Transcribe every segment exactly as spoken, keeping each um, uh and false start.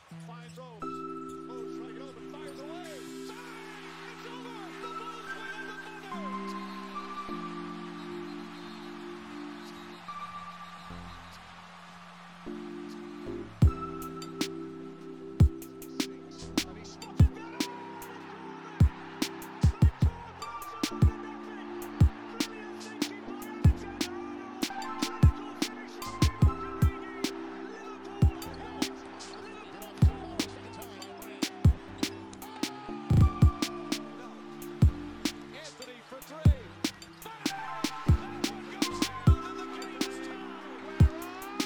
Finds Oates. Oates trying to get open. Fires away. It's over. The Bulls win at the buzzer. And he spotted that. Brilliant thinking by Alexander Arnold. Clinical finish from Divock Origi. Liverpool ahead. Anthony for three. That one goes down and the game's tied.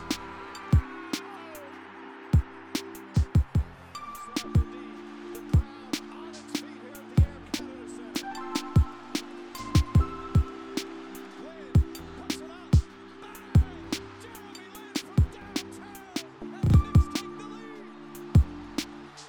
Slap indeed. The crowd on its feet here at the Air Canada Centre. Lynn puts it up. Bang! Jeremy Lin from downtown. And the Knicks take the lead.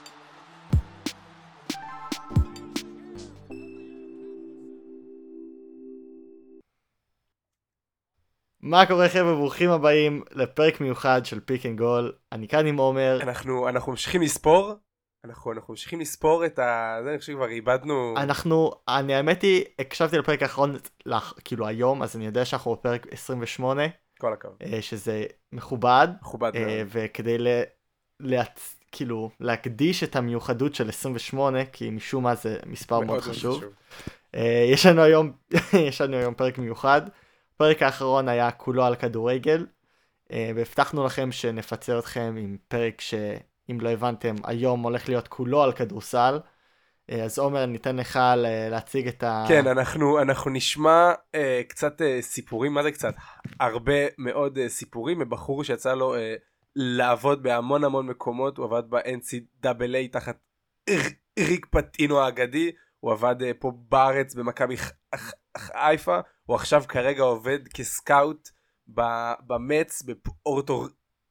מה קורה חבר'ה, ברוכים הבאים לפרק מיוחד של פיק אנד גול. אני כאן עם עומר. אנחנו אנחנו ממשיכים לספור אנחנו אנחנו ממשיכים לספור את ה... זה אני חושב כבר איבדנו. אנחנו, אני האמת היא, הקשבתי לפרק האחרון לך, כאילו היום, אז אני יודע שאנחנו בפרק עשרים ושמונה, כל הכבוד, אה, שזה מכובד, מכובד אה, מאוד. וכדי ל... להצ... כאילו להקדיש את המיוחדות של עשרים ושמונה, כי משום מה זה מספר מאוד חשוב. אה, יש לנו היום יש לנו היום פרק מיוחד. הפרק האחרון היה כולו על כדורגל, אה, והבטחנו לכם שנפצר אתכם עם פרק שאם לא הבנתם היום הולך להיות כולו על כדורסל. אה, אז עומר, ניתן לך ל- להציג את ה... כן, אנחנו אנחנו נשמע אה, קצת אה, סיפורים, מה זה קצת? הרבה מאוד אה, סיפורים מבחור שיצא לו אה, לעבוד בהמון המון מקומות. הוא עבד ב-אן סי דאבל איי תחת ריק פטינו האגדי, הוא עבד אה, פה בארץ במכבי ח- ח- חיפה, הוא עכשיו כרגע עובד כסקאוט ב- במץ בפורטו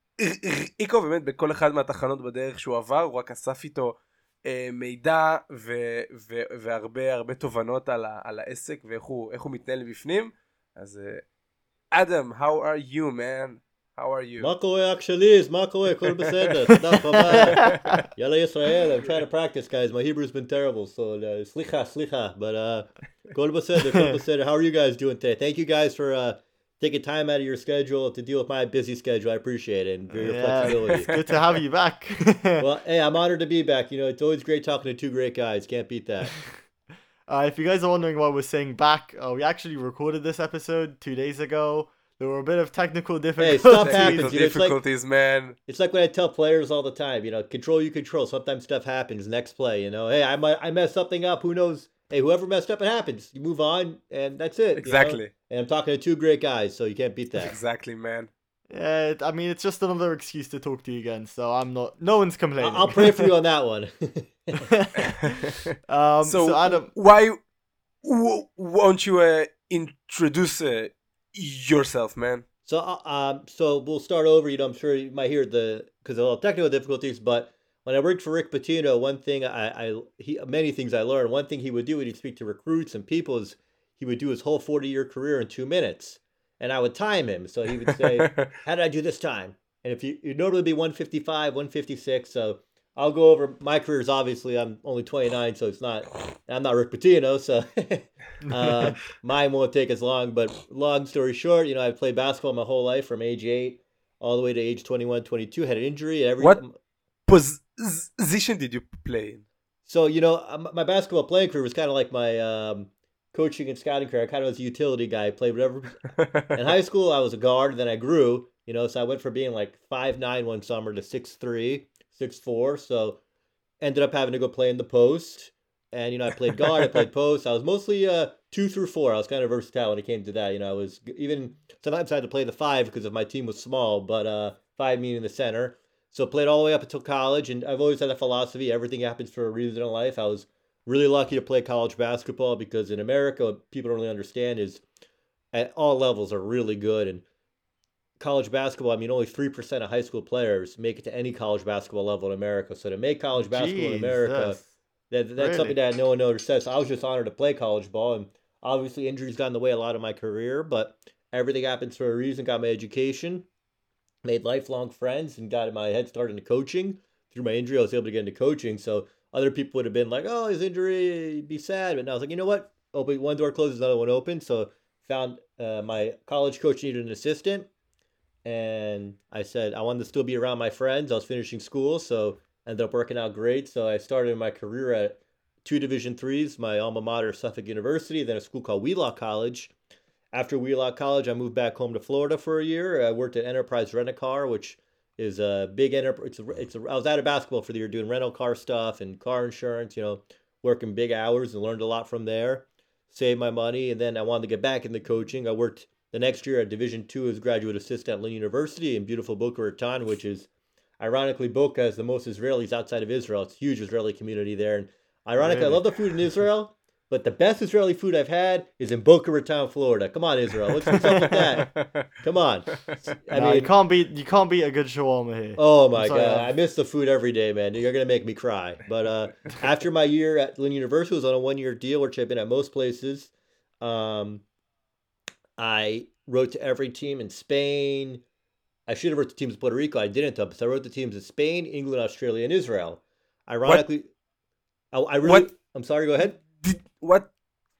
ריקו, באמת בכל אחד מהתחנות בדרך שהוא עבר, הוא רק אסף איתו אה, מידע ו- ו- והרבה הרבה תובנות על, ה- על העסק ואיך הוא, איך הוא מתנהל בפנים. אז אה, אדם, how are you man? How are you? מה קורה אח שלי? אז מה קורה? הכל בסדר, תודה רבה. יאללה ישראל, I'm trying to practice guys, my Hebrew's been terrible, so uh, סליחה, סליחה, but uh, הכל בסדר, הכל בסדר. How are you guys doing today? Thank you guys for uh, taking time out of your schedule to deal with my busy schedule. I appreciate it and for your Yeah, flexibility. it's good to have you back. Well, hey, I'm honored to be back. You know, it's always great talking to two great guys. Can't beat that. Uh, if you guys are wondering why we're saying back, uh, we actually recorded this episode two days ago. There were a bit of technical difficulties. stuff Technical happens, you know, it's like- difficulties, man. It's like what I tell players all the time, you know, control you control. Sometimes stuff happens. Next play, you know, hey, I might I messed something up. Who knows? Hey, whoever messed up, it happens. You move on, and that's it. you know? Exactly. And I'm talking to two great guys, so you can't beat that. Exactly, man. Yeah, it- I mean, it's just another excuse to talk to you again, so I'm not, no one's complaining. I- I'll pray for you on that one. um, so, so, Adam, why w- won't you uh, introduce uh, yourself, man? So, uh, um, so we'll start over. You know, I'm sure you might hear the because of all technical difficulties. But when I worked for Rick Pitino, one thing I, I he many things I learned. One thing he would do when he'd speak to recruits and people is he would do his whole forty year career in two minutes, and I would time him. So he would say, "How did I do this time?" And if you you normally be one fifty-five, one fifty-six. So I'll go over my career. Is obviously I'm only twenty-nine, so it's not. I'm not Rick Pitino, so uh, mine won't take as long. But long story short, you know, I've played basketball my whole life from age eight all the way to age twenty-one, twenty-two. Had an injury. Every What position did you play in? So you know, um, my basketball playing career was kind of like my um, coaching and scouting career. I kind of was a utility guy. I played whatever. In high school, I was a guard. Then I grew. You know, so I went from being like five nine one summer to six three, six four. So ended up having to go play in the post. And, you know, I played guard, I played post. I was mostly uh, two through four. I was kind of versatile when it came to that. You know, I was even sometimes I had to play the five because of my team was small, but uh, five meaning the center. So played all the way up until college. And I've always had a philosophy. Everything happens for a reason in life. I was really lucky to play college basketball because in America, what people don't really understand is at all levels are really good. And college basketball, I mean, only three percent of high school players make it to any college basketball level in America. So to make college basketball in America... Jesus. That, that's Really? something that no one understands. So I was just honored to play college ball, and obviously injuries got in the way a lot of my career, but everything happens for a reason. Got my education, made lifelong friends, and got my head started into coaching. through my injury, I was able to get into coaching. So other people would have been like, "Oh, his injury, be sad." But now I was like, you know what? Open one door closes, another one opens. So found uh, my college coach needed an assistant, and I said I wanted to still be around my friends. I was finishing school, so ended up working out great. So I started my career at two Division threes, my alma mater, Suffolk University, then a school called Wheelock College. After Wheelock College, I moved back home to Florida for a year. I worked at Enterprise Rent-A-Car, which is a big enterprise. It's a, it's a, I was out of basketball for the year doing rental car stuff and car insurance, you know, working big hours and learned a lot from there. Saved my money, and then I wanted to get back into coaching. I worked the next year at Division two as graduate assistant at Lynn University in beautiful Boca Raton, which is, ironically, Boca has the most Israelis outside of Israel. It's a huge Israeli community there. And ironically, Really? I love the food in Israel, but the best Israeli food I've had is in Boca Raton, Florida. Come on, Israel. What's, what's up with that? Come on. I Nah, mean, you can't beat you can't beat a good shawarma here. oh my I'm sorry, God. I've- I miss the food every day, man. You're going to make me cry. But uh, after my year at Lynn University, I was on a one year deal, which I've been at most places. Um, I wrote to every team in Spain. I should have wrote to teams in Puerto Rico. I didn't, though. So I wrote to teams in Spain, England, Australia, and Israel. Ironically, I, I really. What? I'm sorry, go ahead. Did, what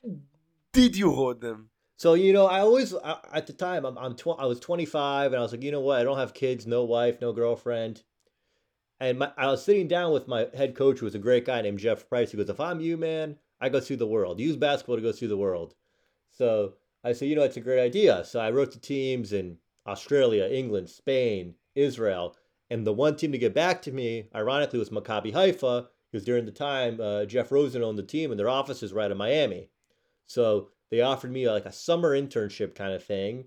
did you wrote them? So, you know, I always, I, at the time, I'm, I'm tw- I was twenty-five, and I was like, you know what? I don't have kids, no wife, no girlfriend. And my, I was sitting down with my head coach, who was a great guy named Jeff Price. He goes, if I'm you, man, I go see the world. Use basketball to go see the world. So I said, you know, it's a great idea. So I wrote to teams in Australia, England, Spain, Israel. And the one team to get back to me, ironically, was Maccabi Haifa, because during the time, uh, Jeff Rosen owned the team, and their office is right in Miami. So they offered me like a summer internship kind of thing.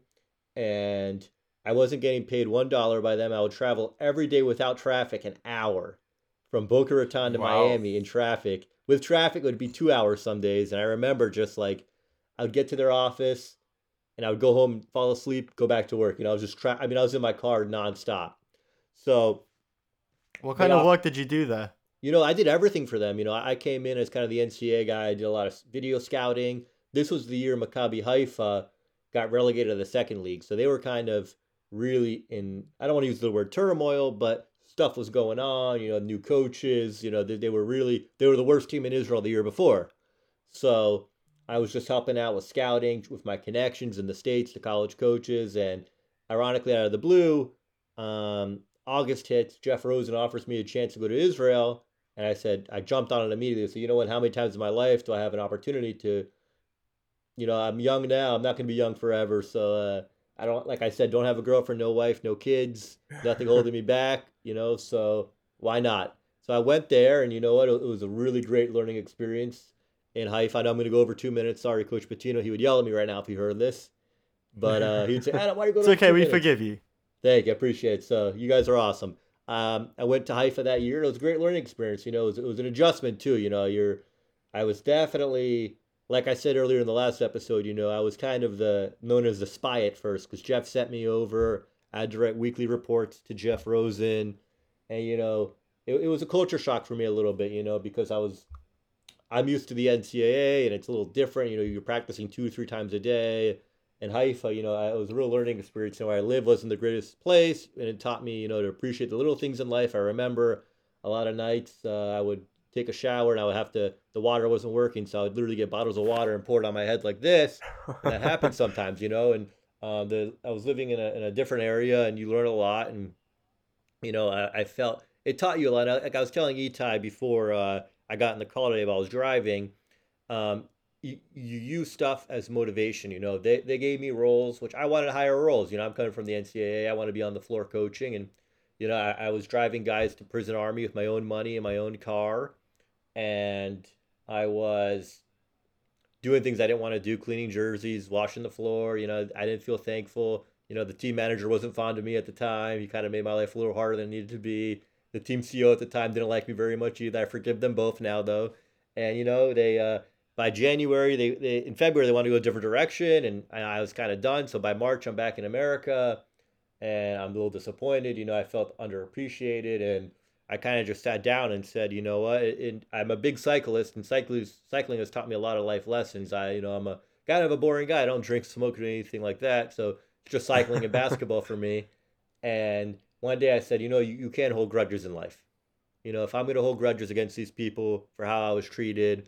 And I wasn't getting paid one dollar by them. I would travel every day without traffic an hour from Boca Raton to Wow. Miami in traffic. With traffic, it would be two hours some days. And I remember just like, I would get to their office and I would go home, fall asleep, go back to work. You know, I was just, tra- I mean, I was in my car nonstop. So, What kind They of off- work did you do there? you know, I did everything for them. You know, I came in as kind of the N C A A guy. I did a lot of video scouting. This was the year Maccabi Haifa got relegated to the second league. So they were kind of really in, I don't want to use the word turmoil, but stuff was going on, you know, new coaches, you know, they, they were really, they were the worst team in Israel the year before. So I was just helping out with scouting with my connections in the States, the college coaches. And ironically, out of the blue, um, August hits, Jeff Rosen offers me a chance to go to Israel. And I said, I jumped on it immediately. So, you know what, how many times in my life do I have an opportunity to, you know, I'm young now. I'm not going to be young forever. So, uh, I don't, like I said, don't have a girlfriend, no wife, no kids, nothing holding me back, you know, so why not? So I went there, and you know what? It was a really great learning experience in Haifa. I know I'm going to go over two minutes. Sorry, Coach Patino. He would yell at me right now if he heard this. But uh, he'd say, Adam, why are you going It's over okay, two we minutes? forgive you. Thank you. I appreciate it. So you guys are awesome. Um, I went to Haifa that year. It was a great learning experience. You know, it was, it was an adjustment too. You know, you're, I was definitely, like I said earlier in the last episode, you know, I was kind of the, known as the spy at first, because Jeff sent me over. I had to write weekly reports to Jeff Rosen. And, you know, it, it was a culture shock for me a little bit, you know, because I was, I'm used to the N C A A, and it's a little different. You know, you're practicing two, three times a day. In Haifa, you know, it was a real learning experience. You know, where I live wasn't the greatest place, and it taught me, you know, to appreciate the little things in life. I remember a lot of nights uh, I would take a shower, and I would have to, the water wasn't working, so I would literally get bottles of water and pour it on my head like this. And that happens sometimes, you know. And um, the I was living in a in a different area, and you learn a lot. And you know, I, I felt it taught you a lot. Like I was telling Itai before uh, I got in the car today while I was driving. Um, You, you use stuff as motivation. You know, they, they gave me roles, which I wanted higher roles. You know, I'm coming from the N C A A. I want to be on the floor coaching. And, you know, I, I was driving guys to prison army with my own money in my own car. And I was doing things I didn't want to do, cleaning jerseys, washing the floor. You know, I didn't feel thankful. You know, the team manager wasn't fond of me at the time. He kind of made my life a little harder than it needed to be. The team C E O at the time didn't like me very much either. I forgive them both now, though. And, you know, they, uh, by January, they, they in February, they wanted to go a different direction, and I was kind of done. So by March, I'm back in America, and I'm a little disappointed. You know, I felt underappreciated, and I kind of just sat down and said, you know what, it, it, I'm a big cyclist, and cycling, cycling has taught me a lot of life lessons. I, you know, I'm a kind of a boring guy. I don't drink, smoke, or anything like that. So it's just cycling and basketball for me. And one day I said, you know, you, you can't hold grudges in life. You know, if I'm going to hold grudges against these people for how I was treated,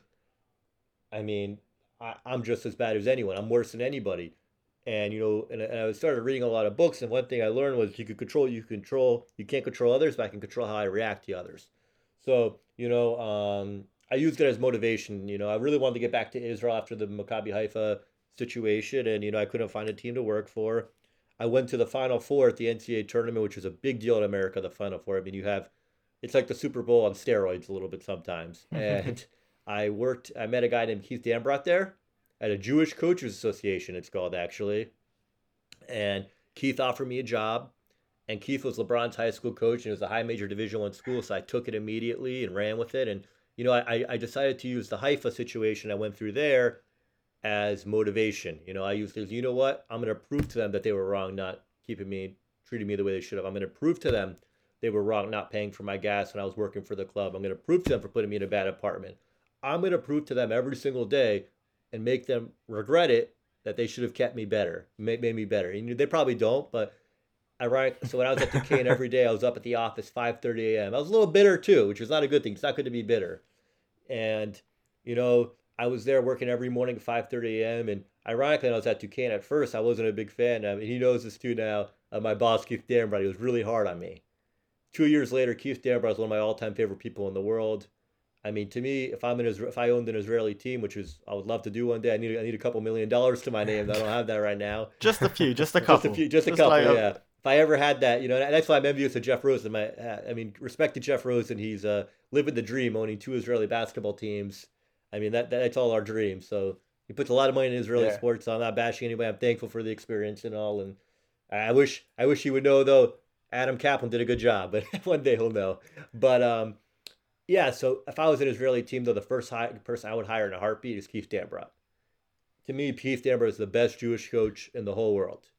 I mean, I, I'm just as bad as anyone. I'm worse than anybody. And, you know, and, and I started reading a lot of books. And one thing I learned was you can control, you can control, you can't control others, but I can control how I react to others. So, you know, um, I used it as motivation. You know, I really wanted to get back to Israel after the Maccabi Haifa situation. And, you know, I couldn't find a team to work for. I went to the Final Four at the N C double A tournament, which is a big deal in America, the Final Four. I mean, you have, it's like the Super Bowl on steroids a little bit sometimes. And I worked, I met a guy named Keith Dambrot there at a Jewish Coaches Association, it's called actually. And Keith offered me a job. And Keith was LeBron's high school coach, and it was a high major Division One school, so I took it immediately and ran with it. And, you know, I, I decided to use the Haifa situation I went through there as motivation. You know, I used it, you know what? I'm going to prove to them that they were wrong, not keeping me, treating me the way they should have. I'm going to prove to them they were wrong, not paying for my gas when I was working for the club. I'm going to prove to them for putting me in a bad apartment. I'm going to prove to them every single day and make them regret it that they should have kept me better, made, made me better. And they probably don't, but ironic. So when I was at Duquesne every day, I was up at the office five thirty a.m. I was a little bitter too, which is not a good thing. It's not good to be bitter. And, you know, I was there working every morning at five thirty a.m. And ironically, when I was at Duquesne at first, I wasn't a big fan. I mean, he knows this too now. Uh, my boss, Keith Dambrot, he was really hard on me. Two years later, Keith Dambrot is one of my all-time favorite people in the world. I mean, to me, if I'm an Isra- if I owned an Israeli team, which is I would love to do one day, I need I need a couple million dollars to my name. I don't have that right now. Just a few, just a couple, just a few, just a just couple. like a- Yeah. If I ever had that, you know, and that's why I'm envious of Jeff Rosen. My, I mean, respect to Jeff Rosen. He's uh, living the dream, owning two Israeli basketball teams. I mean, that, that that's all our dreams. So he puts a lot of money in Israeli Yeah. sports. So I'm not bashing anybody. I'm thankful for the experience and all. And I wish I wish he would know though. Adam Kaplan did a good job, but one day he'll know. But um, yeah. So if I was an Israeli team, though, the first hi- person I would hire in a heartbeat is Keith Dambrot. To me, Keith Dambrot is the best Jewish coach in the whole world.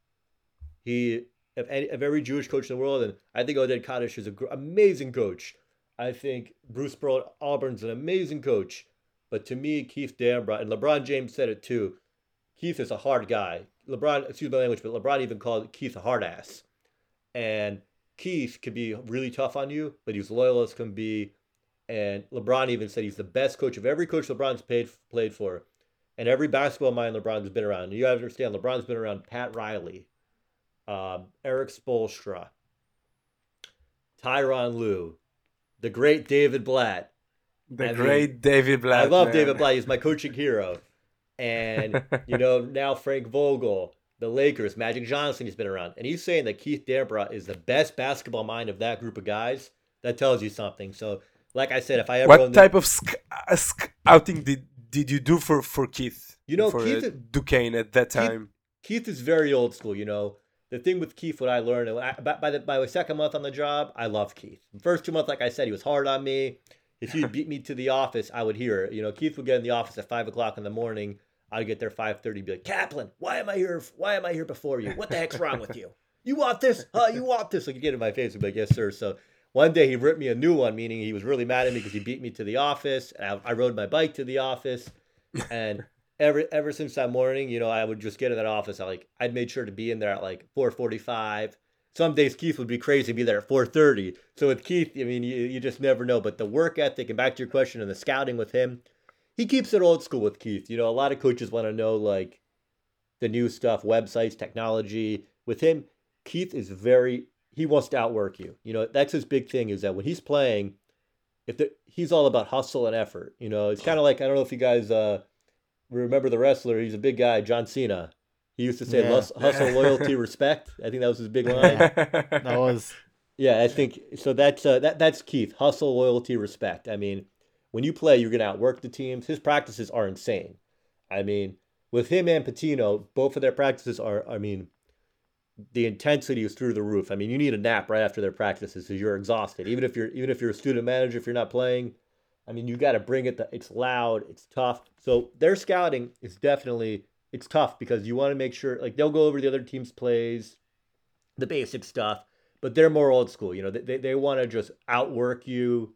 He Of, any, of every Jewish coach in the world, and I think Oded Kaddish is an gr- amazing coach. I think Bruce Pearl at Auburn's an amazing coach. But to me, Keith Dambrot, and LeBron James said it too, Keith is a hard guy. LeBron, excuse my language, but LeBron even called Keith a hard ass. And Keith could be really tough on you, but he's loyal as can be. And LeBron even said he's the best coach of every coach LeBron's paid, played for. And every basketball mind LeBron's been around. And you have to understand, LeBron's been around Pat Riley, Um, Eric Spoelstra, Tyronn Lue, the great David Blatt. The I great mean, David Blatt. I love man. David Blatt. He's my coaching hero. And, you know, now Frank Vogel, the Lakers, Magic Johnson, he's been around. And he's saying that Keith Dambrot is the best basketball mind of that group of guys. That tells you something. So, like I said, if I ever... What owned type the, of sc- uh, scouting did, did you do for, for Keith? You know, for Keith- uh, Duquesne at that time. Keith is very old school, you know. The thing with Keith, what I learned, and I, by, by the by the second month on the job, I love Keith. The first two months, like I said, he was hard on me. If he'd beat me to the office, I would hear it. You know, Keith would get in the office at five o'clock in the morning. I'd get there five thirty, be like, Kaplan, why am I here? Why am I here before you? What the heck's wrong with you? You want this? Huh? You want this? Like, he'd get in my face and be like, yes, sir. So one day he ripped me a new one, meaning he was really mad at me because he beat me to the office. And I, I rode my bike to the office. And ever ever since that morning, you know, I would just get in that office. I like I'd made sure to be in there at like four forty-five. Some days Keith would be crazy and be there at four thirty. So with Keith, I mean, you, you just never know. But the work ethic, and back to your question, and the scouting with him, he keeps it old school with Keith. You know, a lot of coaches want to know like the new stuff, websites, technology. With him, Keith is very, he wants to outwork you. You know, that's his big thing is that when he's playing, if the, he's all about hustle and effort. You know, it's kind of like, I don't know if you guys uh, remember the wrestler. He's a big guy, John Cena. He used to say Yeah. "Lus- hustle, loyalty, respect. I think that was his big line. That was Yeah, I think so. That's uh, that that's Keith. Hustle, loyalty, respect. I mean, when you play, you're gonna outwork the teams. His practices are insane. I mean, with him and Patino, both of their practices are. I mean, the intensity is through the roof. I mean, you need a nap right after their practices because you're exhausted. Even if you're even if you're a student manager, if you're not playing, I mean, you got to bring it. The, it's loud. It's tough. So their scouting is definitely it's tough because you want to make sure like they'll go over the other team's plays, the basic stuff. But they're more old school, you know. They they, they want to just outwork you,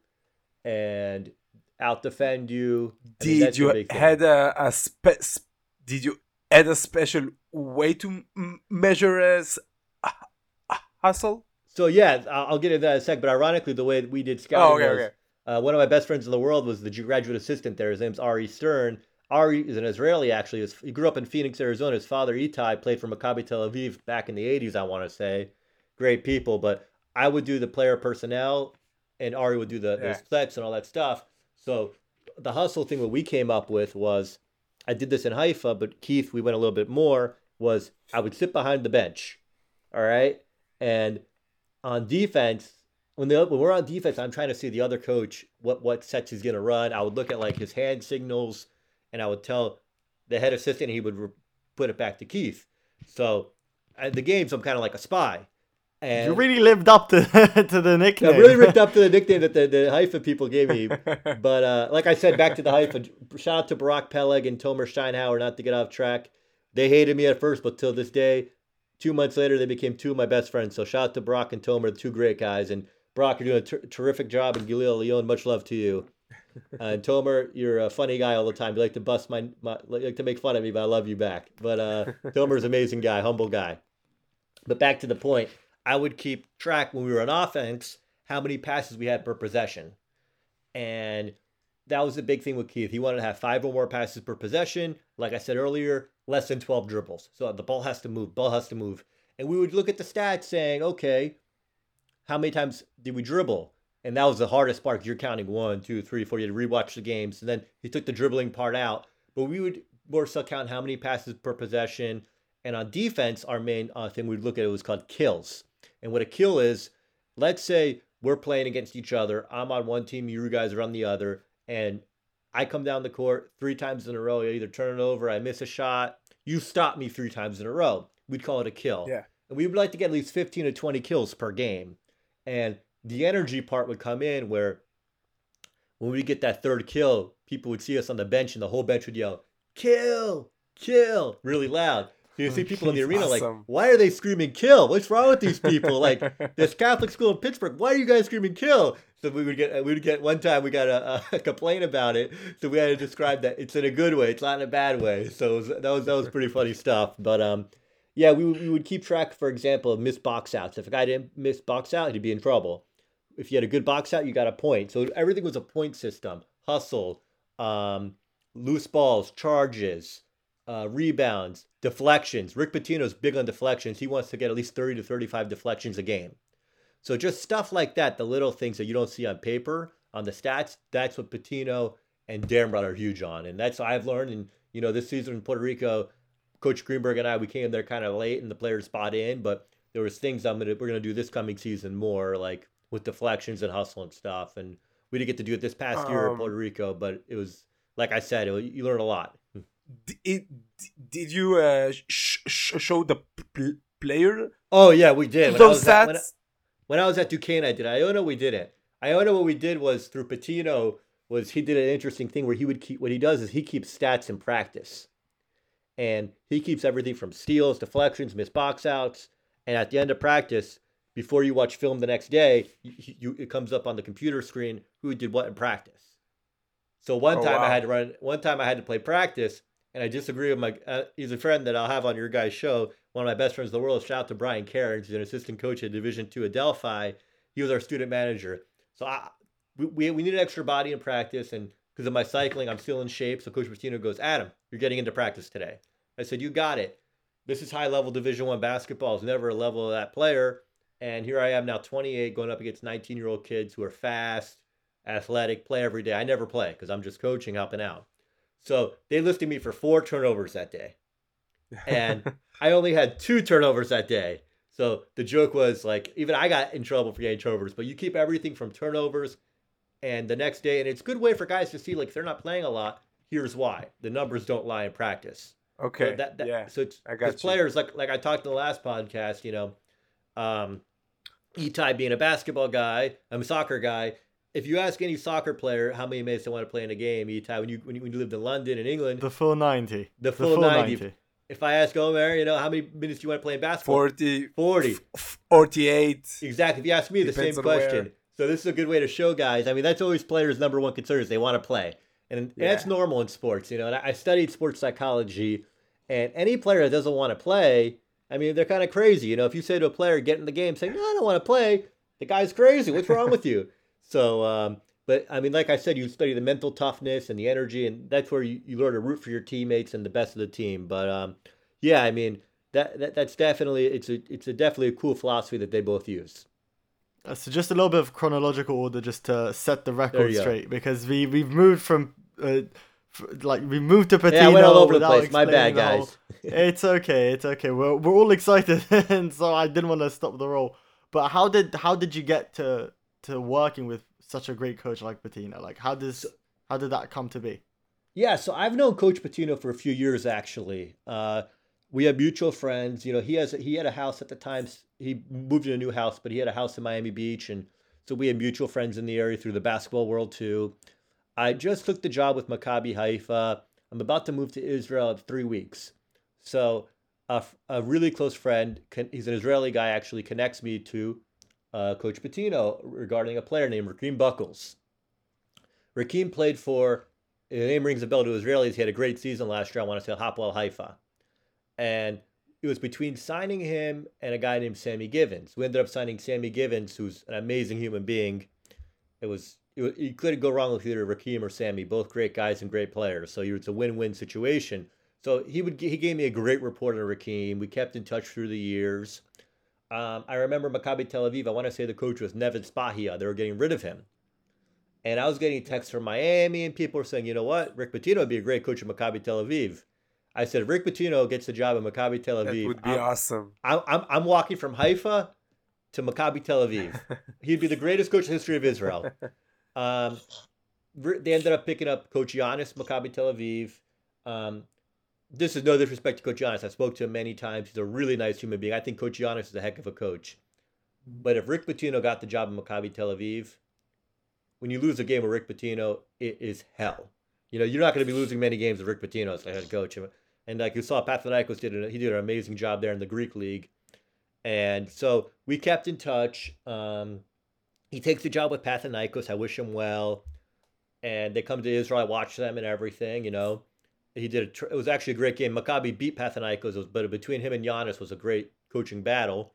and outdefend you. I mean, Did that's the you big thing. had a, a spe- s- did you add a special way to m- measure as a, a hustle? So yeah, I'll, I'll get into that in a sec. But ironically, the way that we did scouting Oh, okay, was okay. Uh, one of my best friends in the world was the graduate assistant there. His name's Ari Stern. Ari is an Israeli, actually. He, was, he grew up in Phoenix, Arizona. His father, Itai, played for Maccabi Tel Aviv back in the eighties, I want to say. Great people. But I would do the player personnel, and Ari would do the, Yeah. the sets and all that stuff. So the hustle thing that we came up with was, I did this in Haifa, but Keith, we went a little bit more, was I would sit behind the bench, all right? And on defense, when, the, when we're on defense, I'm trying to see the other coach what, what sets he's going to run. I would look at like his hand signals, and I would tell the head assistant, he would re- put it back to Keith. So at the games, I'm kind of like a spy. And You really lived up to to the nickname. I really ripped up to the nickname that the, the Haifa people gave me. But uh, like I said, back to the Haifa, shout out to Barak Peleg and Tomer Steinhauer, not to get off track. They hated me at first, but till this day, two months later, they became two of my best friends. So shout out to Barak and Tomer, two great guys. And Brock, you're doing a ter- terrific job, and Gilil Leon, much love to you. Uh, and Tomer, you're a funny guy all the time. You like to bust my, my like to make fun of me, but I love you back. But uh, Tomer's an amazing guy, humble guy. But back to the point, I would keep track when we were on offense how many passes we had per possession, and that was the big thing with Keith. He wanted to have five or more passes per possession. Like I said earlier, less than twelve dribbles. So the ball has to move. Ball has to move. And we would look at the stats saying, okay, how many times did we dribble? And that was the hardest part because you're counting one, two, three, four. You had to rewatch the games. And then he took the dribbling part out. But we would more so count how many passes per possession. And on defense, our main uh, thing we'd look at it was called kills. And what a kill is, let's say we're playing against each other. I'm on one team, you guys are on the other. And I come down the court three times in a row. I either turn it over, I miss a shot. You stop me three times in a row. We'd call it a kill. Yeah. And we would like to get at least fifteen to twenty kills per game. And the energy part would come in where when we get that third kill, people would see us on the bench and the whole bench would yell, kill, kill, really loud. So you see people in the arena like, Awesome. why are they screaming kill? What's wrong with these people? Like this Catholic school in Pittsburgh, why are you guys screaming kill? So we would get, we would get one time we got a, a complaint about it. So we had to describe that it's in a good way. It's not in a bad way. So it was, that was, that was pretty funny stuff. But um, yeah, we, we would keep track, for example, of missed box outs. If a guy didn't miss box out, he'd be in trouble. If you had a good box out, you got a point. So everything was a point system. Hustle, um, loose balls, charges, uh, rebounds, deflections. Rick Pitino's big on deflections. He wants to get at least thirty to thirty-five deflections a game. So just stuff like that, the little things that you don't see on paper, on the stats, that's what Pitino and Damrod are huge on. And that's what I've learned. And, you know, this season in Puerto Rico, Coach Greenberg and I, we came there kind of late and the players spot in, but there was things I'm gonna we're gonna do this coming season more, like with deflections and hustle and stuff. And we didn't get to do it this past year in Um, Puerto Rico, but it was, like I said, it, you learn a lot. D- it, did you uh, sh- sh- show the p- player Oh yeah, we did. When I those was at- when I- stats? When I was at Duquesne, I did. Iona, we didn't. Iona, what we did was through Patino was he did an interesting thing where he would keep. What he does is he keeps stats in practice, and he keeps everything from steals, deflections, missed box outs, and at the end of practice, before you watch film the next day, you, you it comes up on the computer screen who did what in practice. So one Oh, time wow. I had to run. One time I had to play practice, and I disagree with my. Uh, he's a friend that I'll have on your guys' show. One of my best friends in the world. Shout out to Brian Cairns. He's an assistant coach at Division Two at Delphi. He was our student manager. So I, we, we we needed extra body in practice, and because of my cycling, I'm still in shape. So Coach Martino goes, Adam, you're getting into practice today. I said, you got it. This is high level Division One basketball. It's never a level of that player. And here I am now, twenty-eight, going up against nineteen year old kids who are fast, athletic, play every day. I never play because I'm just coaching, helping out. So they listed me for four turnovers that day. And I only had two turnovers that day. So the joke was like, even I got in trouble for getting turnovers, but you keep everything from turnovers and the next day. And it's a good way for guys to see, like, if they're not playing a lot, here's why. The numbers don't lie in practice. Okay. So that, that, yeah. So it's, I got because you. players, like like I talked in the last podcast, you know, um, Itai being a basketball guy, I'm a soccer guy. If you ask any soccer player how many minutes they want to play in a game, Itai, when you when you, when you lived in London and England, The full ninety. the full, ninety. If I ask Omer, you know, how many minutes do you want to play in basketball? forty, forty. f- forty-eight. Exactly. If you ask me, the Depends same on where. question. So this is a good way to show guys. I mean, that's always players' number one concern is they want to play. And, and that's Yeah. normal in sports, you know. And I I studied sports psychology, and any player that doesn't want to play, I mean, they're kind of crazy. You know, if you say to a player, get in the game, saying, no, I don't want to play, the guy's crazy. What's wrong with you? So, um, but I mean, like I said, you study the mental toughness and the energy, and that's where you, you learn to root for your teammates and the best of the team. But um, yeah, I mean, that, that that's definitely, it's a, it's a definitely a cool philosophy that they both use. Uh, so just a little bit of chronological order just to set the record straight, because we, we've moved from... Uh, Like we moved to Pitino. Yeah, I went all over the place. My bad, guys. Whole... It's okay. It's okay. We're we're all excited, and so I didn't want to stop the roll. But how did how did you get to to working with such a great coach like Pitino? Like how does how did that come to be? Yeah, so I've known Coach Pitino for a few years actually. Uh, we have mutual friends. You know, he has he had a house at the time. He moved to a new house, but he had a house in Miami Beach, and so we had mutual friends in the area through the basketball world too. I just took the job with Maccabi Haifa. I'm about to move to Israel in three weeks. So a, a really close friend, he's an Israeli guy, actually connects me to uh, Coach Pitino regarding a player named Rakeem Buckles. Rakeem played for, the name rings a bell to Israelis, he had a great season last year, I want to say Hapoel Haifa. And it was between signing him and a guy named Sammy Givens. We ended up signing Sammy Givens, who's an amazing human being. It was... You couldn't go wrong with either Rakeem or Sammy, both great guys and great players. So it's a win-win situation. So he would he gave me a great report on Rakeem. We kept in touch through the years. Um, I remember Maccabi Tel Aviv. I want to say the coach was Nevin Spahia. They were getting rid of him, and I was getting texts from Miami, and people were saying, "You know what? Rick Pitino would be a great coach at Maccabi Tel Aviv." I said, "If Rick Pitino gets the job at Maccabi Tel Aviv, that would be I'm, awesome. I'm, I'm I'm walking from Haifa to Maccabi Tel Aviv. He'd be the greatest coach in the history of Israel." Um, they ended up picking up Coach Giannis, Maccabi Tel Aviv. Um, this is no disrespect to Coach Giannis. I spoke to him many times. He's a really nice human being. I think Coach Giannis is a heck of a coach. But if Rick Pitino got the job in Maccabi Tel Aviv, when you lose a game with Rick Pitino, it is hell. You know, you're not going to be losing many games with Rick Pitino as the head coach. And like you saw, Panathinaikos did an, he did an amazing job there in the Greek league. And so we kept in touch. Um, He takes the job with Panathinaikos. I wish him well. And they come to Israel. I watch them and everything, you know. He did a tr- it was actually a great game. Maccabi beat Panathinaikos, but between him and Giannis was a great coaching battle.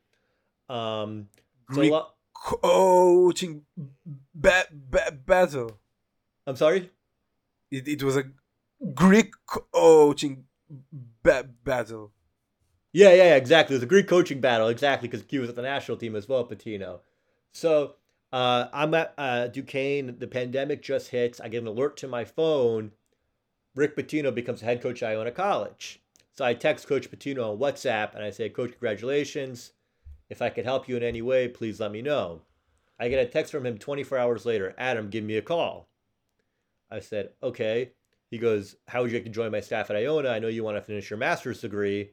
Um, Greek so lo- coaching ba- ba- battle. I'm sorry? It, it was a Greek coaching ba- battle. Yeah, yeah, yeah, exactly. It was a Greek coaching battle, exactly, because he was at the national team as well, Pitino. So uh, I'm at uh, Duquesne. The pandemic just hits. I get an alert to my phone. Rick Pitino becomes head coach at Iona College. So I text Coach Pitino on WhatsApp, and I say, Coach, congratulations. If I could help you in any way, please let me know. I get a text from him twenty-four hours later. Adam, give me a call. I said, okay. He goes, how would you like to join my staff at Iona? I know you want to finish your master's degree,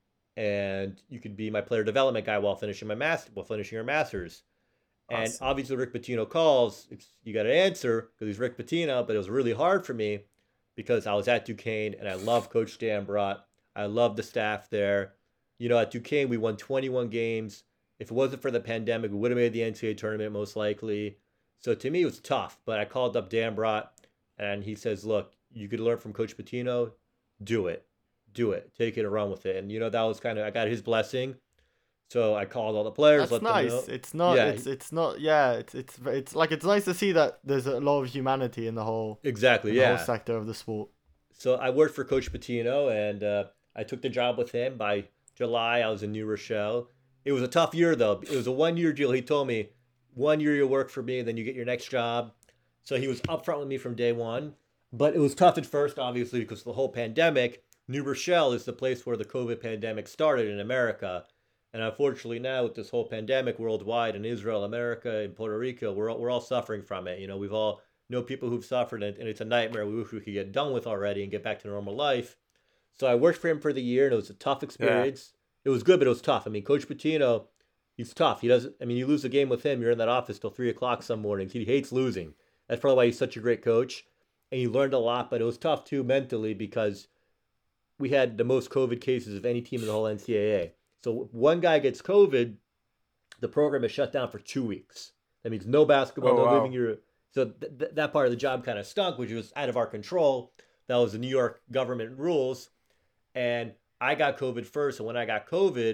and you could be my player development guy while finishing my master, while finishing your master's. And Awesome. obviously, Rick Pitino calls. It's, you got to answer because he's Rick Pitino. But it was really hard for me because I was at Duquesne and I love Coach Dan Brott. I love the staff there. You know, at Duquesne, we won twenty-one games. If it wasn't for the pandemic, we would have made the N C double A tournament most likely. So to me, it was tough. But I called up Dan Brott, and he says, look, you could learn from Coach Pitino. Do it. Do it. Take it and run with it. And, you know, that was kind of, I got his blessing. So I called all the players. That's let nice. them know. It's not. Yeah. It's it's not. Yeah. It's it's it's like it's nice to see that there's a lot of humanity in the whole Exactly. in the Yeah. whole sector of the sport. So I worked for Coach Pitino, and uh, I took the job with him. By July, I was in New Rochelle. It was a tough year, though. It was a one-year deal. He told me, one year you'll work for me, then you get your next job. So he was upfront with me from day one. But it was tough at first, obviously, because of the whole pandemic. New Rochelle is the place where the COVID pandemic started in America. And unfortunately now, with this whole pandemic worldwide in Israel, America, and Puerto Rico, we're all, we're all suffering from it. You know, we've all know people who've suffered, and it's a nightmare we wish we could get done with already and get back to normal life. So I worked for him for the year, and it was a tough experience. Yeah. It was good, but it was tough. I mean, Coach Pitino, he's tough. He doesn't. I mean, you lose a game with him, you're in that office till three o'clock some mornings. He hates losing. That's probably why he's such a great coach. And he learned a lot, but it was tough too mentally because we had the most COVID cases of any team in the whole N C double A. So one guy gets COVID, the program is shut down for two weeks. That means no basketball, Oh, no wow. living your. So th- th- that part of the job kind of stunk, which was out of our control. That was the New York government rules. And I got COVID first. And when I got COVID,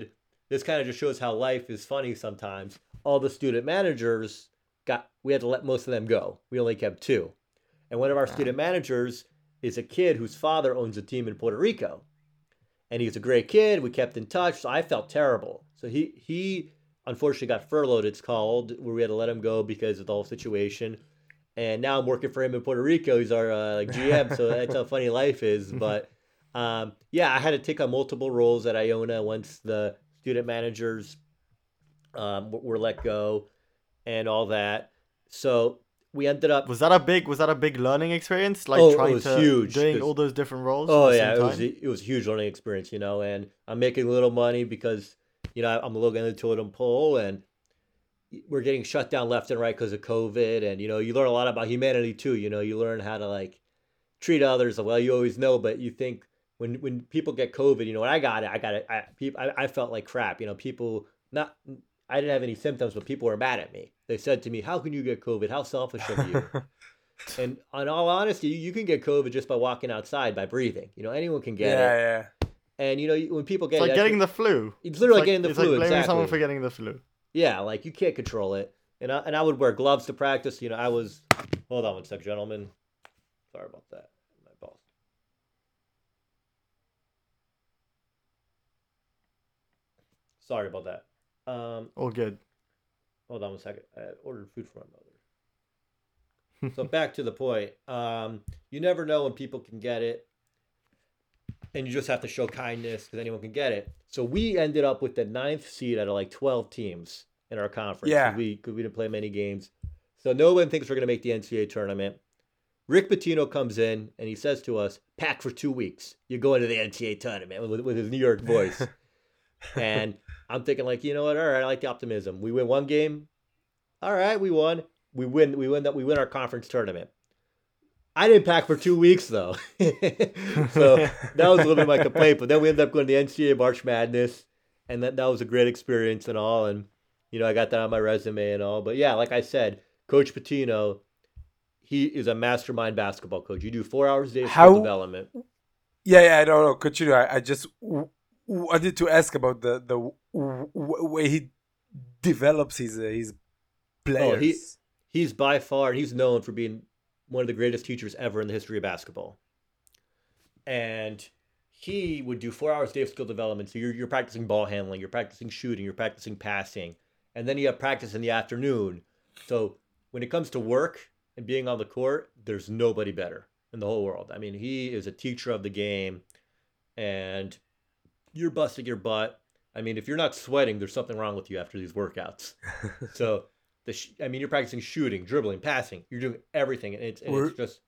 this kind of just shows how life is funny sometimes. All the student managers got, we had to let most of them go. We only kept two. And one of our student managers is a kid whose father owns a team in Puerto Rico. And he's a great kid. We kept in touch. So I felt terrible. So he, he unfortunately got furloughed, it's called, where we had to let him go because of the whole situation. And now I'm working for him in Puerto Rico. He's our uh, like G M. So that's how funny life is. But um, yeah, I had to take on multiple roles at Iona once the student managers um, were let go and all that. So we ended up. Was that a big? Was that a big learning experience? Like Oh, it trying was to huge, doing 'cause- all those different roles. Oh at the yeah, same it was time? it was a huge learning experience, you know. And I'm making a little money because you know I'm looking at the totem pole, and we're getting shut down left and right because of COVID. And you know, you learn a lot about humanity too. You know, you learn how to like treat others. Well, you always know, but you think when when people get COVID, you know, when I got it, I got it. I people, I, I felt like crap. You know, people not. I didn't have any symptoms, but people were mad at me. They said to me, "How can you get COVID? How selfish of you?" And in all honesty, you, you can get COVID just by walking outside, by breathing. You know, anyone can get yeah, it. yeah. And you know, when people get It's it, like that's getting what- the flu. it's literally like, getting the it's flu. like blaming exactly. someone for getting the flu. Yeah, like you can't control it. And I, and I would wear gloves to practice. You know, I was. Hold on one sec, gentlemen. Sorry about that. My boss. Sorry about that. Um, All good. hold on one second. I ordered food for my mother. So back to the point. Um, you never know when people can get it, and you just have to show kindness because anyone can get it. So we ended up with the ninth seed out of like twelve teams in our conference. Yeah. Cause we because we didn't play many games. So no one thinks we're gonna make the N C double A tournament. Rick Pitino comes in and he says to us, "Pack for two weeks. You're going to the N C double A tournament," with, with his New York voice. And I'm thinking like, you know what? All right, I like the optimism. We win one game. All right, we won. We win. We win that. We win our conference tournament. I didn't pack for two weeks though, so that was a little bit of my complaint. But then we ended up going to the N C double A March Madness, and that that was a great experience and all. And you know, I got that on my resume and all. But yeah, like I said, Coach Pitino, he is a mastermind basketball coach. You do four hours a day of skill How- development. Yeah, yeah, I don't know. Continue. I, I just w- wanted to ask about the the w- w- way he develops his uh, his players. Oh, he he's by far he's known for being one of the greatest teachers ever in the history of basketball. And he would do four hours a day of skill development. So you're you're practicing ball handling, you're practicing shooting, you're practicing passing, and then you have practice in the afternoon. So when it comes to work and being on the court, there's nobody better in the whole world. I mean, he is a teacher of the game, and you're busting your butt. I mean, if you're not sweating, there's something wrong with you after these workouts. So, the sh- I mean, you're practicing shooting, dribbling, passing. You're doing everything, and it's, and it's Were- just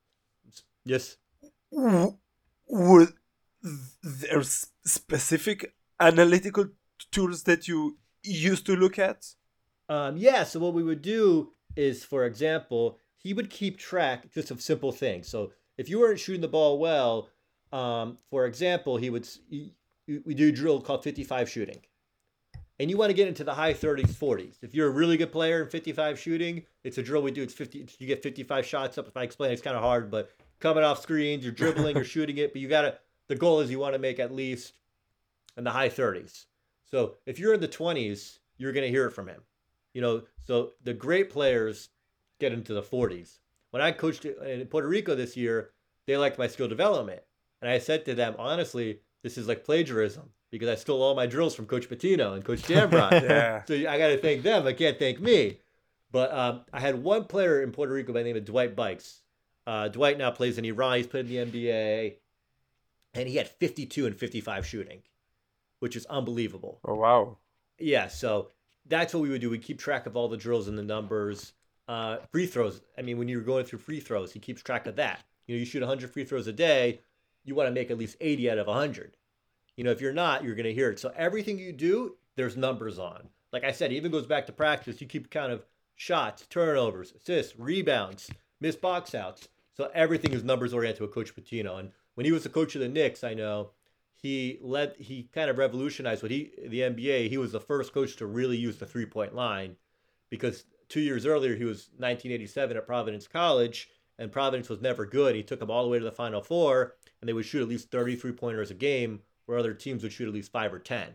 yes. W- Were there s- specific analytical tools that you used to look at? Um, yeah, so what we would do is, for example, he would keep track just of simple things. So if you weren't shooting the ball well, um, for example, he would s- he- we do a drill called fifty-five shooting, and you want to get into the high thirties, forties. If you're a really good player in fifty-five shooting, it's a drill we do. It's fifty. You get fifty-five shots up. If I explain, it's kind of hard, but coming off screens, you're dribbling, you're shooting it, but you gotta. The goal is you want to make at least in the high thirties. So if you're in the twenties, you're gonna hear it from him. You know, so the great players get into the forties. When I coached in Puerto Rico this year, they liked my skill development. And I said to them, honestly, this is like plagiarism because I stole all my drills from Coach Pitino and Coach Dambrot. Yeah. So I got to thank them. I can't thank me. But um, I had one player in Puerto Rico by the name of Dwight Bikes. Uh, Dwight now plays in Iran. He's played in the N B A. And he had fifty-two and fifty-five shooting, which is unbelievable. Oh wow. Yeah, so that's what we would do. We keep track of all the drills and the numbers. Uh, free throws. I mean, when you're going through free throws, he keeps track of that. You know, you shoot one hundred free throws a day. You want to make at least eighty out of one hundred. You know, if you're not, you're going to hear it. So everything you do, there's numbers on. Like I said, it even goes back to practice. You keep count of shots, turnovers, assists, rebounds, missed box outs. So everything is numbers oriented with Coach Pitino. And when he was the coach of the Knicks, I know he led, he kind of revolutionized what he, the N B A. He was the first coach to really use the three point line because two years earlier, he was nineteen eighty-seven at Providence College, and Providence was never good. He took them all the way to the Final Four, and they would shoot at least thirty three pointers a game, where other teams would shoot at least five or ten.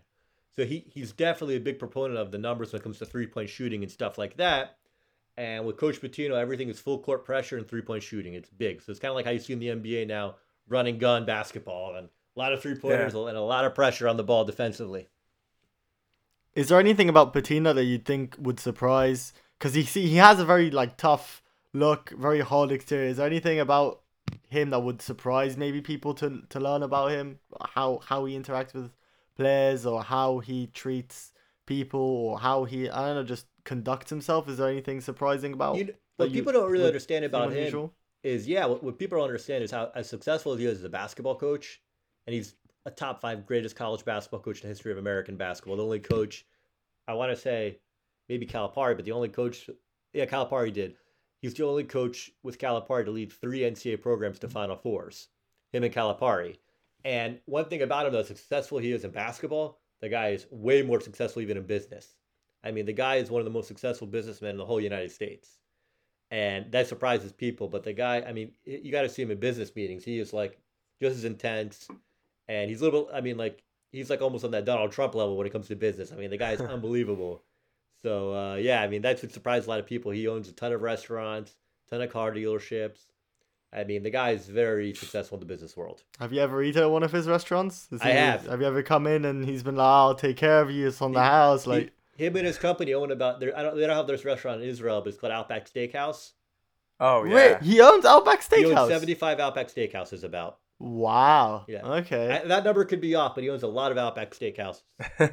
So he he's definitely a big proponent of the numbers when it comes to three point shooting and stuff like that. And with Coach Pitino, everything is full court pressure and three point shooting. It's big. So it's kind of like how you see in the N B A now, running gun basketball and a lot of three pointers yeah. and a lot of pressure on the ball defensively. Is there anything about Pitino that you think would surprise? Because he see he has a very like tough look, very hard exterior. Is there anything about him that would surprise maybe people to to learn about him? How how he interacts with players, or how he treats people, or how he I don't know just conducts himself? Is there anything surprising about? You, what people don't really understand about him is yeah. What, what people don't understand is how as successful as he is as a basketball coach, and he's a top five greatest college basketball coach in the history of American basketball. The only coach, I want to say, maybe Calipari, but the only coach, yeah, Calipari did. He's the only coach with Calipari to lead three N C double A programs to Final Fours. Him and Calipari. And one thing about him, though, successful he is in basketball, the guy is way more successful even in business. I mean, the guy is one of the most successful businessmen in the whole United States. And that surprises people. But the guy, I mean, you got to see him in business meetings. He is like just as intense. And he's a little bit, I mean, like, he's like almost on that Donald Trump level when it comes to business. I mean, the guy is unbelievable. So, uh, yeah, I mean, that's what surprised a lot of people. He owns a ton of restaurants, a ton of car dealerships. I mean, the guy is very successful in the business world. Have you ever eaten at one of his restaurants? Is I he, have. Have you ever come in and he's been like, oh, I'll take care of you, it's on the house? Like he, Him and his company own about, I don't, they don't have this restaurant in Israel, but it's called Outback Steakhouse. Oh, yeah. Wait, he owns Outback Steakhouse? He owns seventy-five Outback Steakhouses about. Wow. Yeah. Okay. I, that number could be off, but he owns a lot of Outback Steakhouses.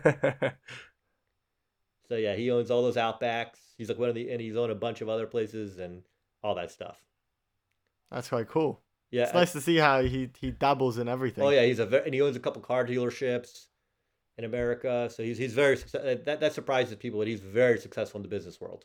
So yeah, he owns all those Outbacks. He's like one of the, and he's owned a bunch of other places and all that stuff. That's quite cool. Yeah, it's nice to see how he he dabbles in everything. Oh yeah, he's a very, and he owns a couple car dealerships in America. So he's he's very that that surprises people, but he's very successful in the business world.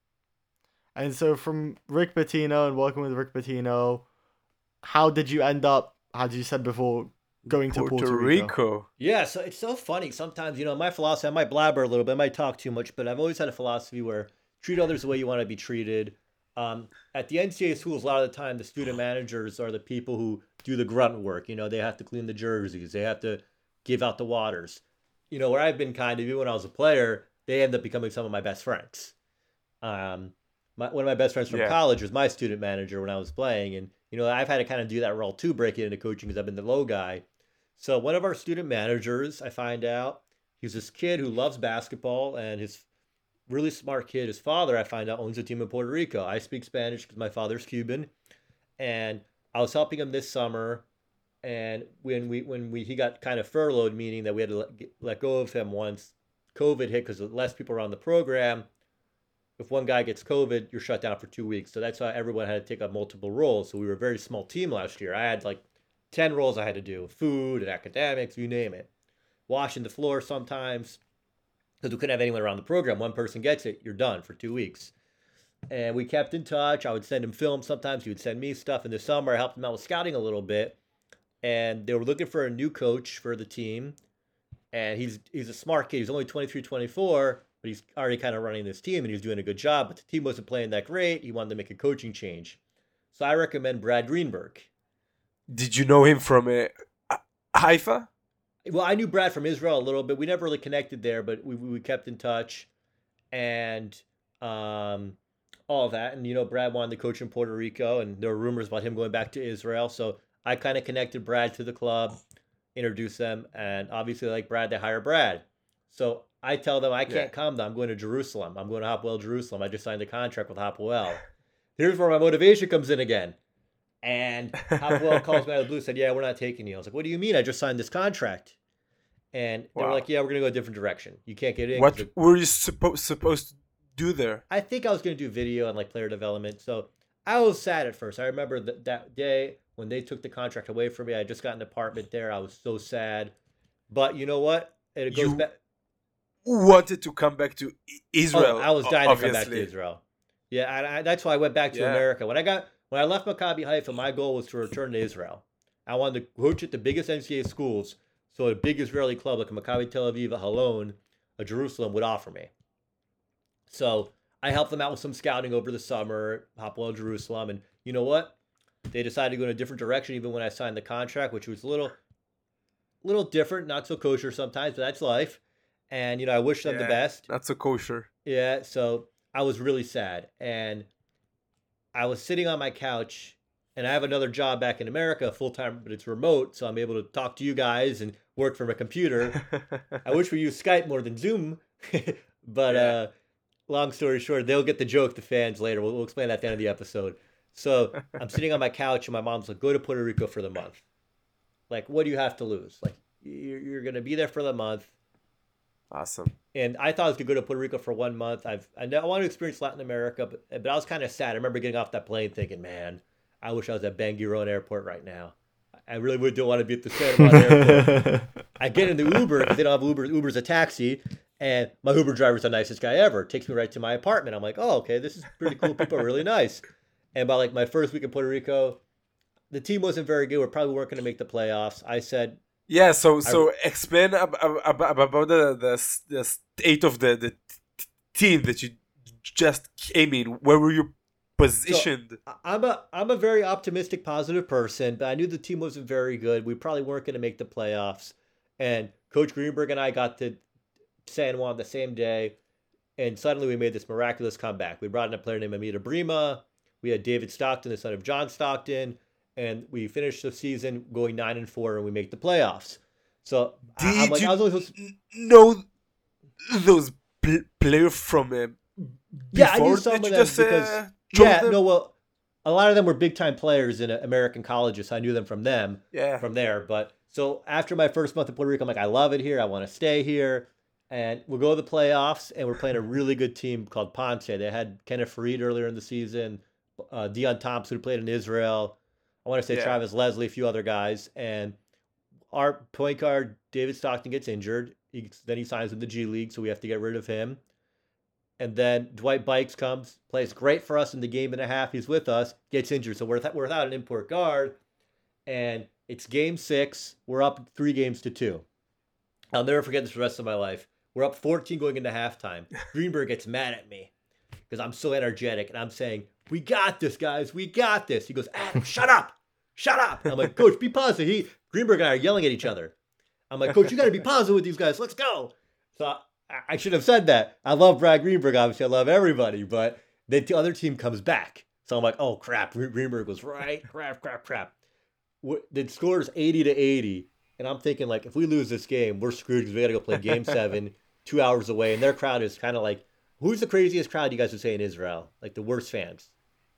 And so from Rick Pitino and working with Rick Pitino, how did you end up? How did you said before? Going to Puerto, Puerto Rico. Rico. Yeah, so it's so funny. Sometimes, you know, my philosophy, I might blabber a little bit, I might talk too much, but I've always had a philosophy where treat others the way you want to be treated. Um, at the N C double A schools, a lot of the time, the student managers are the people who do the grunt work. You know, they have to clean the jerseys. They have to give out the waters. You know, where I've been kind of, even when I was a player, they end up becoming some of my best friends. Um, my, one of my best friends from yeah. college was my student manager when I was playing. And, you know, I've had to kind of do that role too, break it into coaching because I've been the low guy. So one of our student managers, I find out, he's this kid who loves basketball, and his really smart kid, his father, I find out, owns a team in Puerto Rico. I speak Spanish because my father's Cuban, and I was helping him this summer, and when we when we he got kind of furloughed, meaning that we had to let, let go of him once COVID hit because less people were on the program. If one guy gets COVID, you're shut down for two weeks. So that's why everyone had to take up multiple roles. So we were a very small team last year. I had like ten roles I had to do, food and academics, you name it. Washing the floor sometimes, because we couldn't have anyone around the program. One person gets it, you're done for two weeks. And we kept in touch. I would send him film sometimes. He would send me stuff. In the summer, I helped him out with scouting a little bit. And they were looking for a new coach for the team. And he's he's a smart kid. He's only twenty-three, twenty-four, but he's already kind of running this team, and he's doing a good job. But the team wasn't playing that great. He wanted to make a coaching change. So I recommend Brad Greenberg. Did you know him from uh, Haifa? Well, I knew Brad from Israel a little bit. We never really connected there, but we we kept in touch, and um, all that. And you know, Brad wanted to coach in Puerto Rico, and there were rumors about him going back to Israel. So I kind of connected Brad to the club, introduced them, and obviously, like Brad, they hire Brad. So I tell them I can't yeah. come. Though I'm going to Jerusalem. I'm going to Hapoel Jerusalem. I just signed a contract with Hapoel. Here's where my motivation comes in again. And Hapoel calls me out of the blue, said, yeah, we're not taking you. I was like, what do you mean? I just signed this contract. And they wow. were like, yeah, we're going to go a different direction. You can't get in. What it, were you suppo- supposed to do there? I think I was going to do video and like player development. So I was sad at first. I remember that, that day when they took the contract away from me. I just got an apartment there. I was so sad. But you know what? It goes you back. Wanted to come back to Israel. Oh, I was dying obviously. to come back to Israel. Yeah, I, I, that's why I went back to yeah. America. When I got when I left Maccabi Haifa, my goal was to return to Israel. I wanted to coach at the biggest N C double A schools, so a big Israeli club like a Maccabi Tel Aviv, a Holon, a Jerusalem would offer me. So I helped them out with some scouting over the summer, Hapoel Jerusalem, and you know what? They decided to go in a different direction even when I signed the contract, which was a little, little different, not so kosher sometimes, but that's life. And, you know, I wish them the Yeah, best. Not so kosher. Yeah, so I was really sad. And I was sitting on my couch, and I have another job back in America, full time, but it's remote, so I'm able to talk to you guys and work from a computer. I wish we used Skype more than Zoom, but Yeah. uh, long story short, they'll get the joke, the fans, later. We'll, we'll explain that at the end of the episode. So I'm sitting on my couch, and my mom's like, go to Puerto Rico for the month. Like, what do you have to lose? Like, you're, you're going to be there for the month. Awesome. And I thought I was going to go to Puerto Rico for one month. I've I, know, I want to experience Latin America, but, but I was kind of sad. I remember getting off that plane thinking, man, I wish I was at Bangueron Airport right now. I really would don't want to be at the Santa Monica Airport. I get in the Uber because they don't have Uber. Uber's a taxi. And my Uber driver's the nicest guy ever. Takes me right to my apartment. I'm like, oh, okay, this is pretty cool. People are really nice. And by like my first week in Puerto Rico, the team wasn't very good. We probably weren't going to make the playoffs. I said, Yeah, so so explain ab- ab- ab- about the, the the state of the the t- team that you just came in. Where were you positioned? I- I'm a I'm a very optimistic, positive person, but I knew the team wasn't very good. We probably weren't going to make the playoffs. And Coach Greenberg and I got to San Juan the same day, and suddenly we made this miraculous comeback. We brought in a player named Amita Brima. We had David Stockton, the son of John Stockton. And we finished the season going nine and four, and we make the playoffs. So I- Did I'm like, you I was only supposed to, n- know those pl- players from uh, yeah, I knew before some that of you them just, because uh, chose yeah, them? no, well, a lot of them were big time players in uh, American colleges. So I knew them from them, Yeah. from there. But so after my first month in Puerto Rico, I'm like, I love it here. I want to stay here, and we'll go to the playoffs. And we're playing a really good team called Ponce. They had Kenneth Farid earlier in the season, uh, Dion Thompson who played in Israel. I want to say Yeah. Travis Leslie, a few other guys, and our point guard David Stockton gets injured. He, then he signs with the G League, so we have to get rid of him. And then Dwight Bikes comes, plays great for us in the game and a half. He's with us, gets injured, so we're, th- we're without an import guard. And it's game six. We're up three games to two. I'll never forget this for the rest of my life. We're up fourteen going into halftime. Greenberg gets mad at me because I'm so energetic, and I'm saying, we got this, guys. We got this. He goes, Adam, shut up. Shut up. And I'm like, Coach, be positive. He, Greenberg and I are yelling at each other. I'm like, Coach, you got to be positive with these guys. Let's go. So I, I should have said that. I love Brad Greenberg. Obviously, I love everybody. But the other team comes back. So I'm like, oh, crap. Greenberg was right. Crap, crap, crap. The score is eighty to eighty. And I'm thinking, like, if we lose this game, we're screwed because we got to go play game seven, two hours away. And their crowd is kind of like, who's the craziest crowd you guys would say in Israel? Like the worst fans?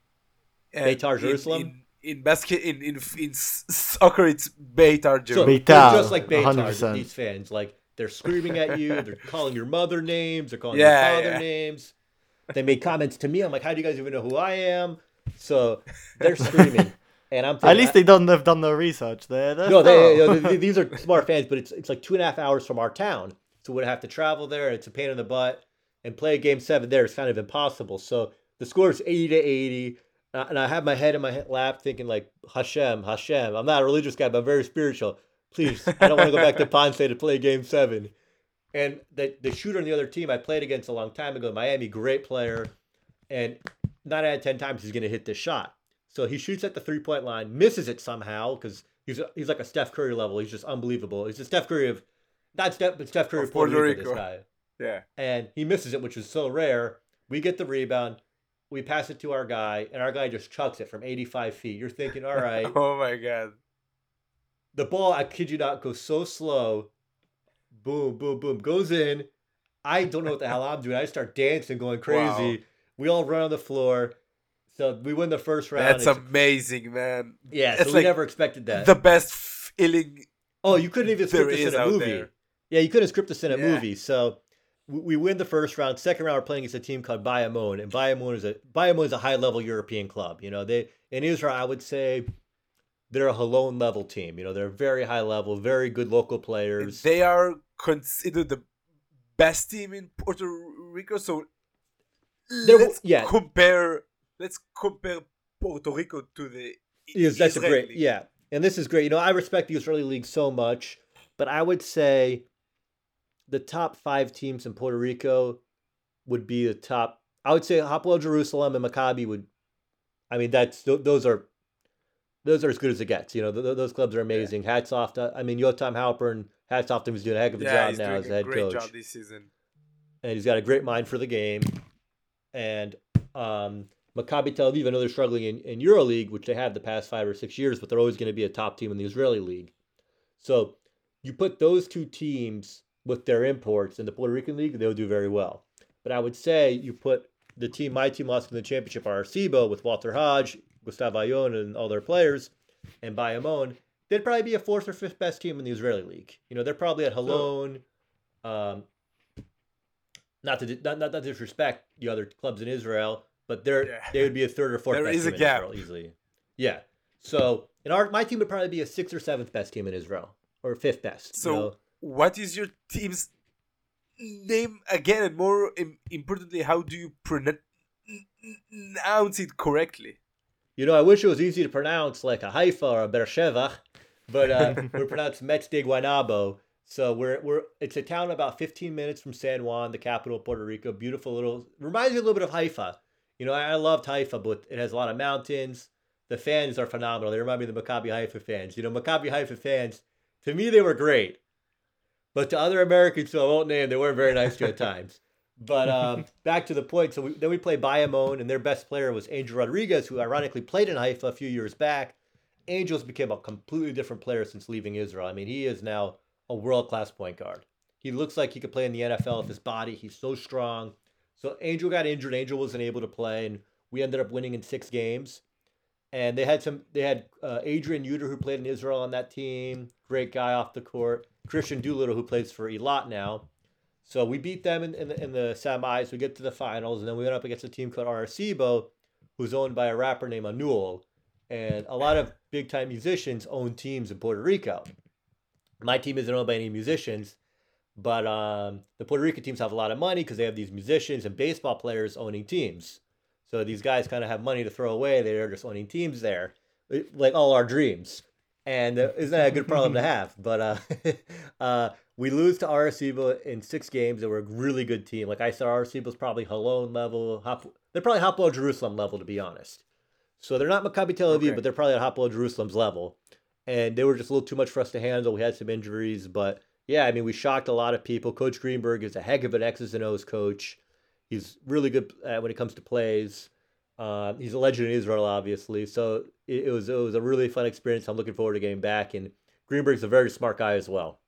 And Beitar in- Jerusalem? In, in basket, in, in in s- soccer, it's Beitar So Jerusalem. they're Beitar, just like one hundred Beitar, percent. these fans. Like, they're screaming at you. They're calling your mother names. They're calling Yeah, your father yeah. names. They made comments to me. I'm like, how do you guys even know who I am? So they're screaming. And I'm thinking, At least they don't have done no research. They're, they're No, they, thorough. you know, th- these are smart fans, but it's it's like two and a half hours from our town. So we'd have to travel there, and it's a pain in the butt. And play game seven there is kind of impossible. So the score is eighty to eighty. Uh, and I have my head in my he- lap thinking, like, Hashem, Hashem. I'm not a religious guy, but I'm very spiritual. Please, I don't want to go back to Ponce to play game seven. And the, the shooter on the other team I played against a long time ago, Miami, great player. And nine out of ten times he's going to hit this shot. So he shoots at the three-point line, misses it somehow because he's a, he's like a Steph Curry level. He's just unbelievable. He's a Steph Curry of, not Steph, but Steph Curry Of of Puerto, Puerto Rico, Rico. this guy. Yeah. And he misses it, which is so rare. We get the rebound. We pass it to our guy, and our guy just chucks it from eighty-five feet. You're thinking, all right. Oh my god. The ball, I kid you not, goes so slow. Boom, boom, boom. Goes in. I don't know what the hell I'm doing. I start dancing, going crazy. Wow. We all run on the floor. So we win the first round. That's It's- amazing, man. yeah, It's so we like never expected that. The best feeling Oh, you couldn't even there script this is in a out movie. there. Yeah, you couldn't script this in a Yeah. movie. So we, we win the first round. Second round, we're playing against a team called Bayamon, and Bayamon is a Bayamon is a high level European club. You know, they in Israel, I would say they're a Halon level team. You know, they're very high level, very good local players. They are considered the best team in Puerto Rico. So They're- let's yeah. compare. Let's compare Puerto Rico to the Yes, that's a Israeli great, yeah. And this is great. You know, I respect the Israeli league so much, but I would say the top five teams in Puerto Rico would be the top. I would say Hapoel Jerusalem and Maccabi would. I mean, that's th- those are those are as good as it gets. You know, th- th- those clubs are amazing. Hats off to. I mean, Yotam Halpern hats off to him. He's doing a heck of a Yeah, job he's now doing as a a head great coach. job this season. And he's got a great mind for the game. And um, Maccabi Tel Aviv, I know they're struggling in, in EuroLeague, which they have the past five or six years, but they're always going to be a top team in the Israeli league. So you put those two teams with their imports in the Puerto Rican league, they'll do very well. But I would say you put the team, my team lost in the championship, Arecibo, with Walter Hodge, Gustavo Ayon, and all their players, and Bayamon, they'd probably be a fourth or fifth best team in the Israeli league. You know, they're probably at Holon. Um, not to not, not, not disrespect the other clubs in Israel, but they're Yeah. they would be a third or fourth There best is team a in gap. Israel easily. Yeah. So in our my team would probably be a sixth or seventh best team in Israel, or fifth best. So, you know? what is your team's name again? And more im- importantly, how do you pronounce it correctly? You know, I wish it was easy to pronounce like a Haifa or a Beersheva, but uh, we pronounce Metz de Guaynabo. So we're we're it's a town about fifteen minutes from San Juan, the capital of Puerto Rico. Beautiful little, reminds me a little bit of Haifa. You know, I, I loved Haifa, but it has a lot of mountains. The fans are phenomenal. They remind me of the Maccabi Haifa fans. You know, Maccabi Haifa fans, to me, they were great. But to other Americans who I won't name, they weren't very nice to at times. But um, back to the point. So we, then we played Bayamon, and their best player was Angel Rodriguez, who ironically played in Haifa a few years back. Angel's became a completely different player since leaving Israel. I mean, he is now a world-class point guard. He looks like he could play in the N F L with his body. He's so strong. So Angel got injured. Angel wasn't able to play, and we ended up winning in six games. And they had some. They had uh, Adrian Uter, who played in Israel on that team. Great guy off the court. Christian Doolittle, who plays for Eilat now. So we beat them in, in, the, in the semis. We get to the finals, and then we went up against a team called Arecibo, who's owned by a rapper named Anuel. And a lot of big-time musicians own teams in Puerto Rico. My team isn't owned by any musicians, but um, the Puerto Rican teams have a lot of money because they have these musicians and baseball players owning teams. So these guys kind of have money to throw away. They're just owning teams there, like all our dreams. And uh, isn't that a good problem to have? But uh, uh, we lose to Arecibo in six games. They were a really good team. Like I said, Arecibo's probably Holon level. Hap- they're probably Hapoel Jerusalem level, to be honest. So they're not Maccabi Tel Aviv, Okay. but they're probably at Hapoel Jerusalem's level. And they were just a little too much for us to handle. We had some injuries. But yeah, I mean, we shocked a lot of people. Coach Greenberg is a heck of an X's and O's coach. He's really good uh, when it comes to plays. Uh, he's a legend in Israel, obviously. So it, it was it was a really fun experience. I'm looking forward to getting back. And Greenberg's a very smart guy as well.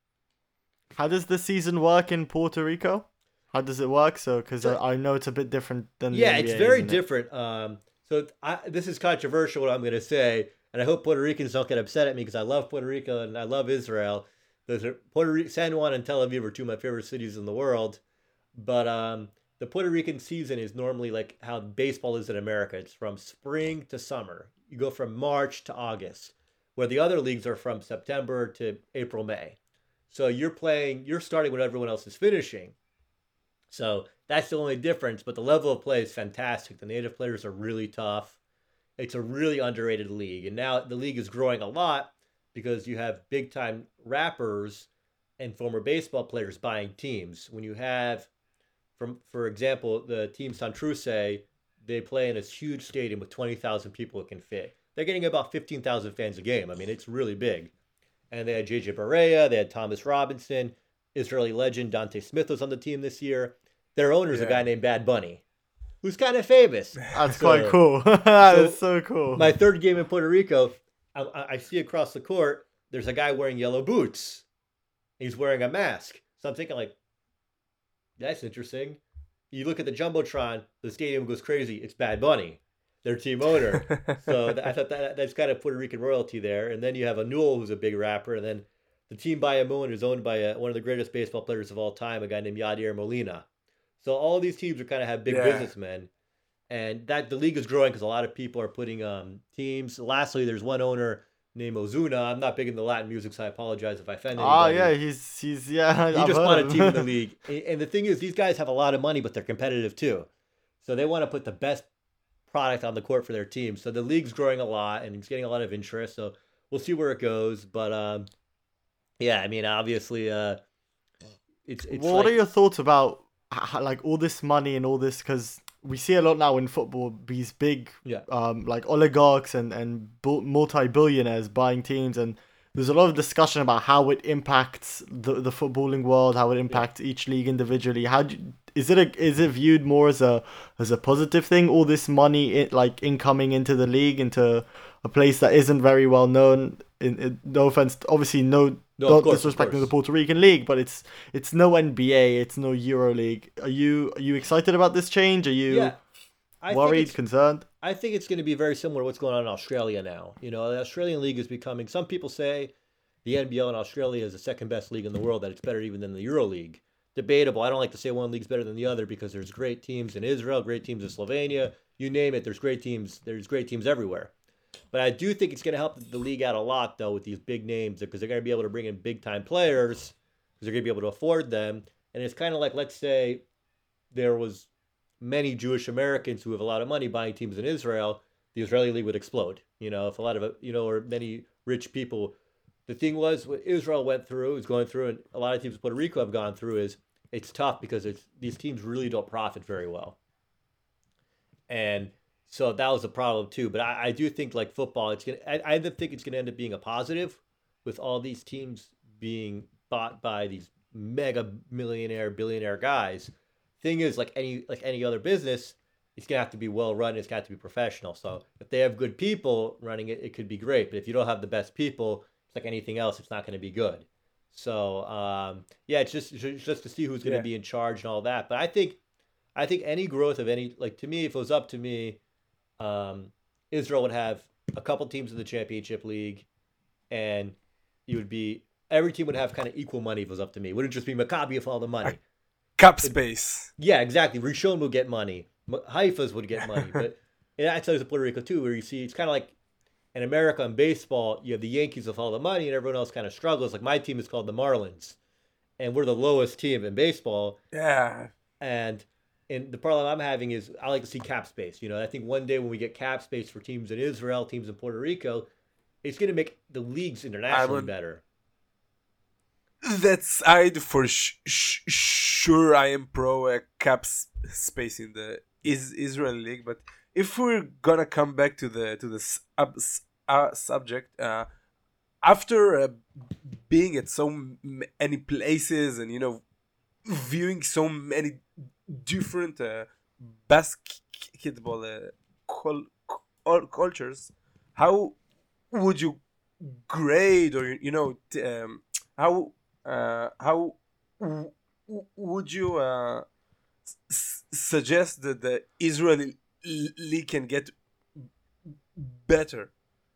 How does the season work in Puerto Rico? How does it work? So, because So- I, I know it's a bit different than the Yeah, N B A, it's very isn't it? different. Um, so I, this is controversial what I'm going to say, and I hope Puerto Ricans don't get upset at me because I love Puerto Rico and I love Israel. Those are Puerto Rico, San Juan and Tel Aviv are two of my favorite cities in the world. But um, the Puerto Rican season is normally like how baseball is in America. It's from spring to summer. You go from March to August, where the other leagues are from September to April, May. So you're playing, you're starting when everyone else is finishing. So that's the only difference, but the level of play is fantastic. The native players are really tough. It's a really underrated league. And now the league is growing a lot because you have big time rappers and former baseball players buying teams. When you have, from for example, the team Santurce, they play in this huge stadium with twenty thousand people it can fit. They're getting about fifteen thousand fans a game. I mean, it's really big. And they had J J Barea, they had Thomas Robinson, Israeli legend Dante Smith was on the team this year. Their owner's Yeah. a guy named Bad Bunny, who's kind of famous. That's So- quite cool. That's so cool. My third game in Puerto Rico, I, I I see across the court, there's a guy wearing yellow boots. He's wearing a mask. So I'm thinking like, that's interesting. You look at the Jumbotron, the stadium goes crazy. It's Bad Bunny, their team owner. So th- I thought that that's kind of Puerto Rican royalty there. And then you have Anuel, who's a big rapper. And then the team Bayamon is owned by a, one of the greatest baseball players of all time, a guy named Yadier Molina. So all these teams are kind of have big Yeah. businessmen. And that the league is growing because a lot of people are putting um, teams. Lastly, there's one owner named Ozuna. I'm not big into Latin music, so I apologize if I offend Oh anybody. yeah, he's he's yeah. He I've just heard bought a of team him. in the league. And and the thing is, these guys have a lot of money, but they're competitive too. So they want to put the best product on the court for their team. So the league's growing a lot and it's getting a lot of interest. So we'll see where it goes. But um, yeah, I mean, obviously, uh, it's it's What like, are your thoughts about h- like all this money and all this? Because we see a lot now in football, these big Yeah. um like oligarchs and and bu- multi-billionaires buying teams, and there's a lot of discussion about how it impacts the the footballing world, how it impacts yeah. each league individually. How do you, is it a, is it viewed more as a as a positive thing? All this money, it, like incoming into the league, into a place that isn't very well known. In, in no offense, obviously no. No, Not course, disrespecting the Puerto Rican league, but it's it's no N B A, it's no Euro League. Are you are you excited about this change? Are you yeah, I worried, concerned? I think it's going to be very similar to what's going on in Australia now. You know, the Australian league is becoming. Some people say the N B L in Australia is the second best league in the world. That it's better even than the Euro League. Debatable. I don't like to say one league's better than the other because there's great teams in Israel, great teams in Slovenia. You name it. There's great teams. There's great teams everywhere. But I do think it's going to help the league out a lot, though, with these big names, because they're going to be able to bring in big-time players, because they're going to be able to afford them. And it's kind of like, let's say there was many Jewish Americans who have a lot of money buying teams in Israel, the Israeli league would explode. You know, if a lot of, you know, or many rich people. The thing was, what Israel went through, is going through, and a lot of teams in Puerto Rico have gone through, is it's tough because it's these teams really don't profit very well. And so that was a problem too. But I, I do think like football, it's gonna. I, I think it's gonna end up being a positive, with all these teams being bought by these mega millionaire, billionaire guys. Thing is, like any like any other business, it's gonna have to be well run. It's got to be professional. So if they have good people running it, it could be great. But if you don't have the best people, it's like anything else. It's not going to be good. So um, yeah, it's just it's just to see who's going to yeah. be in charge and all that. But I think I think any growth of any, like, to me, if it was up to me. Um, Israel would have a couple teams in the championship league, and you would be every team would have kind of equal money if it was up to me. It wouldn't just be Maccabi with all the money. Cap space. It, yeah, exactly. Rishon would get money. Haifa's would get money, but and that's always in Puerto Rico too, where you see it's kind of like in America in baseball, you have the Yankees with all the money, and everyone else kind of struggles. Like my team is called the Marlins, and we're the lowest team in baseball. Yeah, and. And the problem I'm having is I like to see cap space. You know, I think one day when we get cap space for teams in Israel, teams in Puerto Rico, it's going to make the leagues internationally would, better. That's I for sh- sh- sure I am pro uh, cap space in the is Israel league. But if we're gonna come back to the to the sub- uh, subject, uh, after uh, being at so many places and you know viewing so many different uh, basketball uh, col- col- cultures, how would you grade or you know t- um, how uh, how w- would you uh, s- suggest that the Israeli league can get better?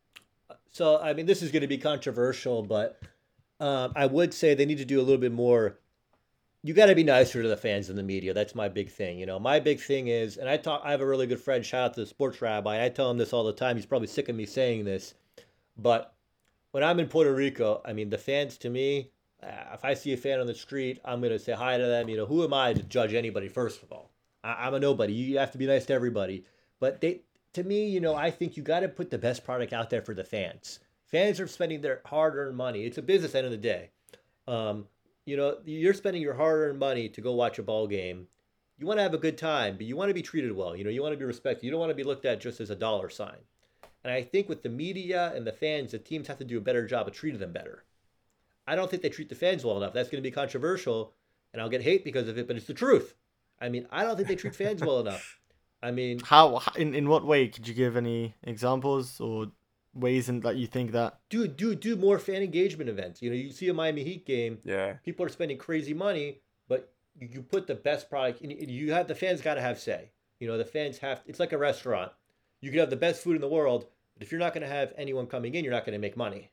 So I mean, this is going to be controversial, but um, I would say they need to do a little bit more. You got to be nicer to the fans and the media. That's my big thing. You know, my big thing is, and I talk. I have a really good friend. Shout out to the sports rabbi. I tell him this all the time. He's probably sick of me saying this, but when I'm in Puerto Rico, I mean, the fans to me, uh, if I see a fan on the street, I'm gonna say hi to them. You know, who am I to judge anybody? First of all, I, I'm a nobody. You have to be nice to everybody. But they, to me, you know, I think you got to put the best product out there for the fans. Fans are spending their hard-earned money. It's a business at the end of the day. Um, You know, you're spending your hard-earned money to go watch a ball game. You want to have a good time, but you want to be treated well. You know, you want to be respected. You don't want to be looked at just as a dollar sign. And I think with the media and the fans, the teams have to do a better job of treating them better. I don't think they treat the fans well enough. That's going to be controversial, and I'll get hate because of it, but it's the truth. I mean, I don't think they treat fans well enough. I mean... How, in, in what way? Could you give any examples or ways in that you think that do do do more fan engagement events? You know, you see a Miami Heat game, yeah, people are spending crazy money, but you, you put the best product in, you have the fans got to have say. You know, the fans have, it's like a restaurant. You can have the best food in the world, but if you're not going to have anyone coming in, you're not going to make money.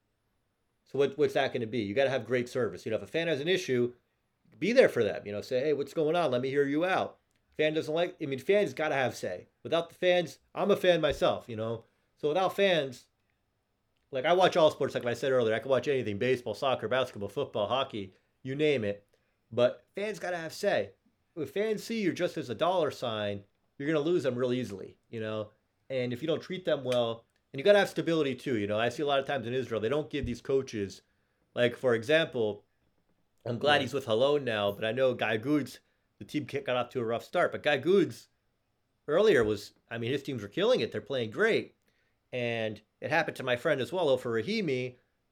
So what what's that going to be? You got to have great service. You know, if a fan has an issue, be there for them. You know, say, hey, what's going on? Let me hear you out. Fan doesn't like, I mean, fans got to have say. Without the fans, I'm a fan myself, you know. So without fans, like I watch all sports, like I said earlier, I can watch anything, baseball, soccer, basketball, football, hockey, you name it. But fans got to have say. If fans see you just as a dollar sign, you're going to lose them real easily, you know. And if you don't treat them well, and you got to have stability too, you know. I see a lot of times in Israel, they don't give these coaches, like for example, I'm glad yeah. he's with Halon now, but I know Guy Goods, the team got off to a rough start. But Guy Goods earlier was, I mean, his teams were killing it. They're playing great. And it happened to my friend as well, Ofer Rahimi,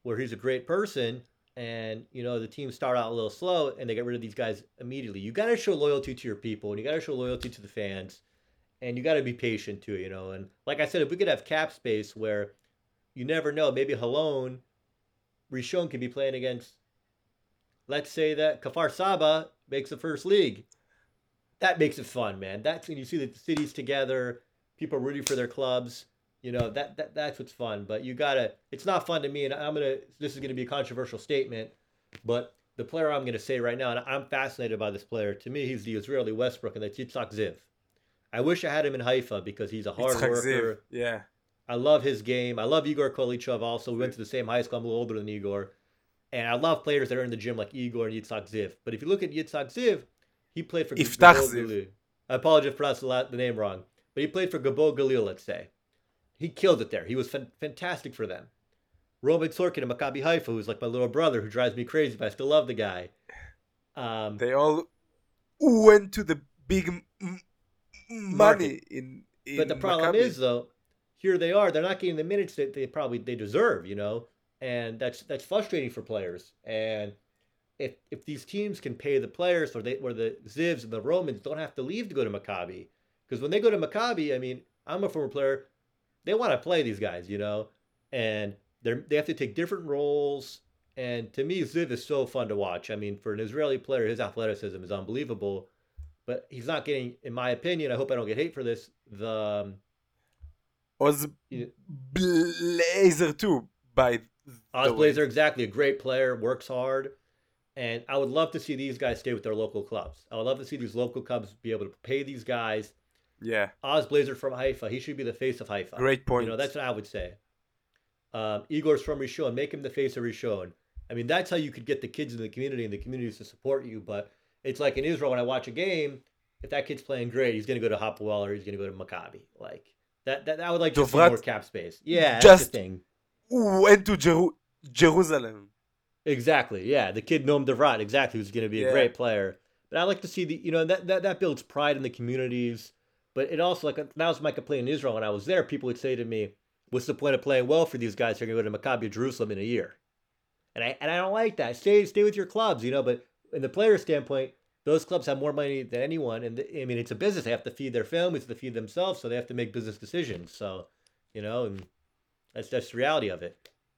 where he's a great person, and you know the teams start out a little slow and they get rid of these guys immediately. You got to show loyalty to your people, and you got to show loyalty to the fans, and you got to be patient too, you know. And like I said, if we could have cap space where you never know, maybe Halon, Rishon could be playing against, let's say that Kfar Saba makes the first league. That makes it fun, man. That's when you see the cities together, people rooting for their clubs. You know, that, that that's what's fun. But you gotta, it's not fun to me, and I'm gonna, this is gonna be a controversial statement, but the player I'm gonna say right now, and I'm fascinated by this player. To me, he's the Israeli Westbrook, and that's Yitzhak Ziv. I wish I had him in Haifa because he's a hard Yitzhak worker. Ziv, yeah. I love his game. I love Igor Kolichov also. We went to the same high school. I'm a little older than Igor. And I love players that are in the gym like Igor and Yitzhak Ziv. But if you look at Yitzhak Ziv, he played for Iftach Gabo Ziv. Galil. I apologize for pronouncing the name wrong. But he played for Gabo Galil, let's say. He killed it there. He was fan- fantastic for them. Roman Sorkin in Maccabi Haifa, who's like my little brother, who drives me crazy, but I still love the guy. Um, They all went to the big m- m- money in, in but the problem Maccabi. is, though, here they are. They're not getting the minutes that they probably they deserve, you know, and that's that's frustrating for players. And if if these teams can pay the players, or they where the Zivs and the Romans don't have to leave to go to Maccabi, because when they go to Maccabi, I mean, I'm a former player. They want to play these guys, you know, and they they have to take different roles. And to me, Ziv is so fun to watch. I mean, for an Israeli player, his athleticism is unbelievable. But he's not getting, in my opinion, I hope I don't get hate for this, the um, Oz you- Blazer too, by Oz the way. Blazer, exactly, a great player, works hard. And I would love to see these guys stay with their local clubs. I would love to see these local clubs be able to pay these guys. Yeah, Oz Blazer from Haifa, he should be the face of Haifa. great point. You know, that's what I would say. Um, Igor's from Rishon, make him the face of Rishon. I mean, that's how you could get the kids in the community and the communities to support you. But it's like in Israel, when I watch a game, if that kid's playing great, he's going to go to Hapoel or he's going to go to Maccabi. Like, that, that I would like to see Dovrat more cap space. Yeah, that's just- the thing. Went to Jeru- Jerusalem. Exactly. Yeah, the kid Noam Devrat, exactly, who's going to be a Yeah. great player. But I like to see the, you know, that, that that builds pride in the communities. But it also, like, that was my complaint in Israel when I was there. People would say to me, "What's the point of playing well for these guys? They're going to go to Maccabi Jerusalem in a year." And I and I don't like that. Stay stay with your clubs, you know. But in the player standpoint, those clubs have more money than anyone, and the, I mean, it's a business. They have to feed their families, to feed themselves, so they have to make business decisions. So, you know, and that's that's the reality of it.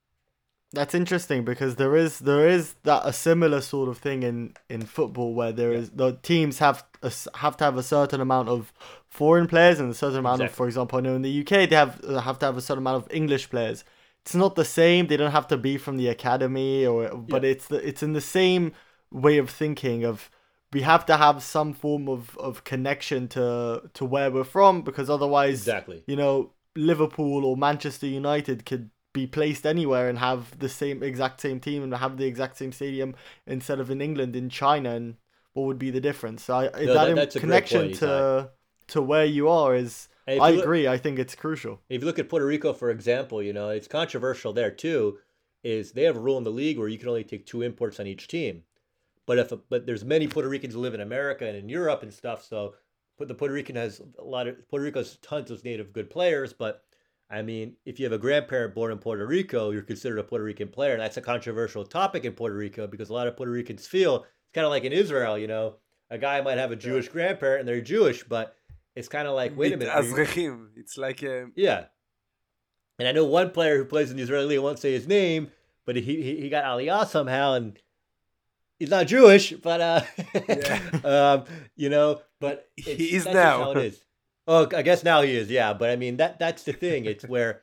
That's interesting because there is there is that a similar sort of thing in, in football where there is the teams have a, s- have to have a certain amount of foreign players and a certain amount of, Exactly. for example, I know in the U K they have uh, have to have a certain amount of English players. It's not the same. They don't have to be from the academy, or but it's the, it's in the same way of thinking of we have to have some form of, of connection to to where we're from, because otherwise, Exactly. you know, Liverpool or Manchester United could be placed anywhere and have the same exact same team and have the exact same stadium instead of in England, in China, and what would be the difference? So I, that, that- that's a great connection point, to to where you are is, And if I you look- agree. I think it's crucial. If you look at Puerto Rico, for example, you know, it's controversial there too, is they have a rule in the league where you can only take two imports on each team. But if a, but there's many Puerto Ricans who live in America and in Europe and stuff, so but the Puerto Rican has a lot of Puerto Rico has tons of native good players, but I mean, if you have a grandparent born in Puerto Rico, you're considered a Puerto Rican player. That's a controversial topic in Puerto Rico because a lot of Puerto Ricans feel it's kind of like in Israel, you know, a guy might have a Jewish grandparent and they're Jewish, but it's kind of like, wait a minute, are you- Azrechim. It's like a, yeah. And I know one player who plays in the Israeli league, I won't say his name, but he he, he got Aliyah somehow, and he's not Jewish, but uh, um, you know, but it's, He is that's just now. how it is. Oh, I guess now he is, yeah. But I mean, that that's the thing. It's where,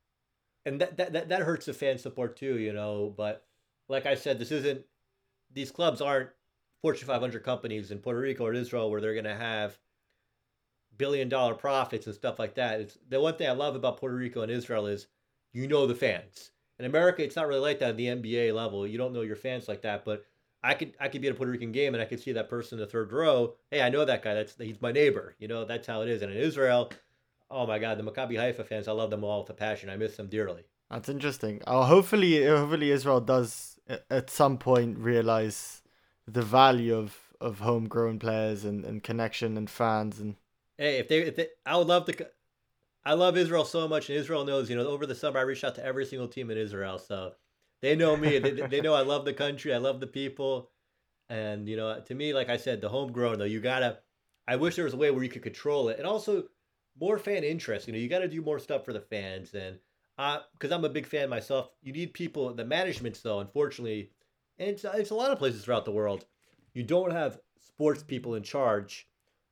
and that that that, that hurts the fan support too, you know. But like I said, this isn't. These clubs aren't Fortune five hundred companies in Puerto Rico or Israel where they're going to have billion dollar profits and stuff like that. It's the one thing I love about Puerto Rico and Israel is you know the fans. In America, it's not really like that at the N B A level. You don't know your fans like that, but I could I could be at a Puerto Rican game and I could see that person in the third row. Hey, I know that guy. That's he's my neighbor. You know, that's how it is. And in Israel, oh my God, the Maccabi Haifa fans, I love them all with a passion. I miss them dearly. That's interesting. Oh, hopefully, hopefully Israel does a- at some point realize the value of, of homegrown players and, and connection and fans and Hey, if they if they, I would love to. co- I love Israel so much, and Israel knows. You know, over the summer I reached out to every single team in Israel. So They know me. They, they know I love the country. I love the people. And, you know, to me, like I said, the homegrown, though, you got to, I wish there was a way where you could control it. And also more fan interest. You know, you got to do more stuff for the fans. And because uh, I'm a big fan myself, you need people, the managements, though, unfortunately, and it's, it's a lot of places throughout the world, you don't have sports people in charge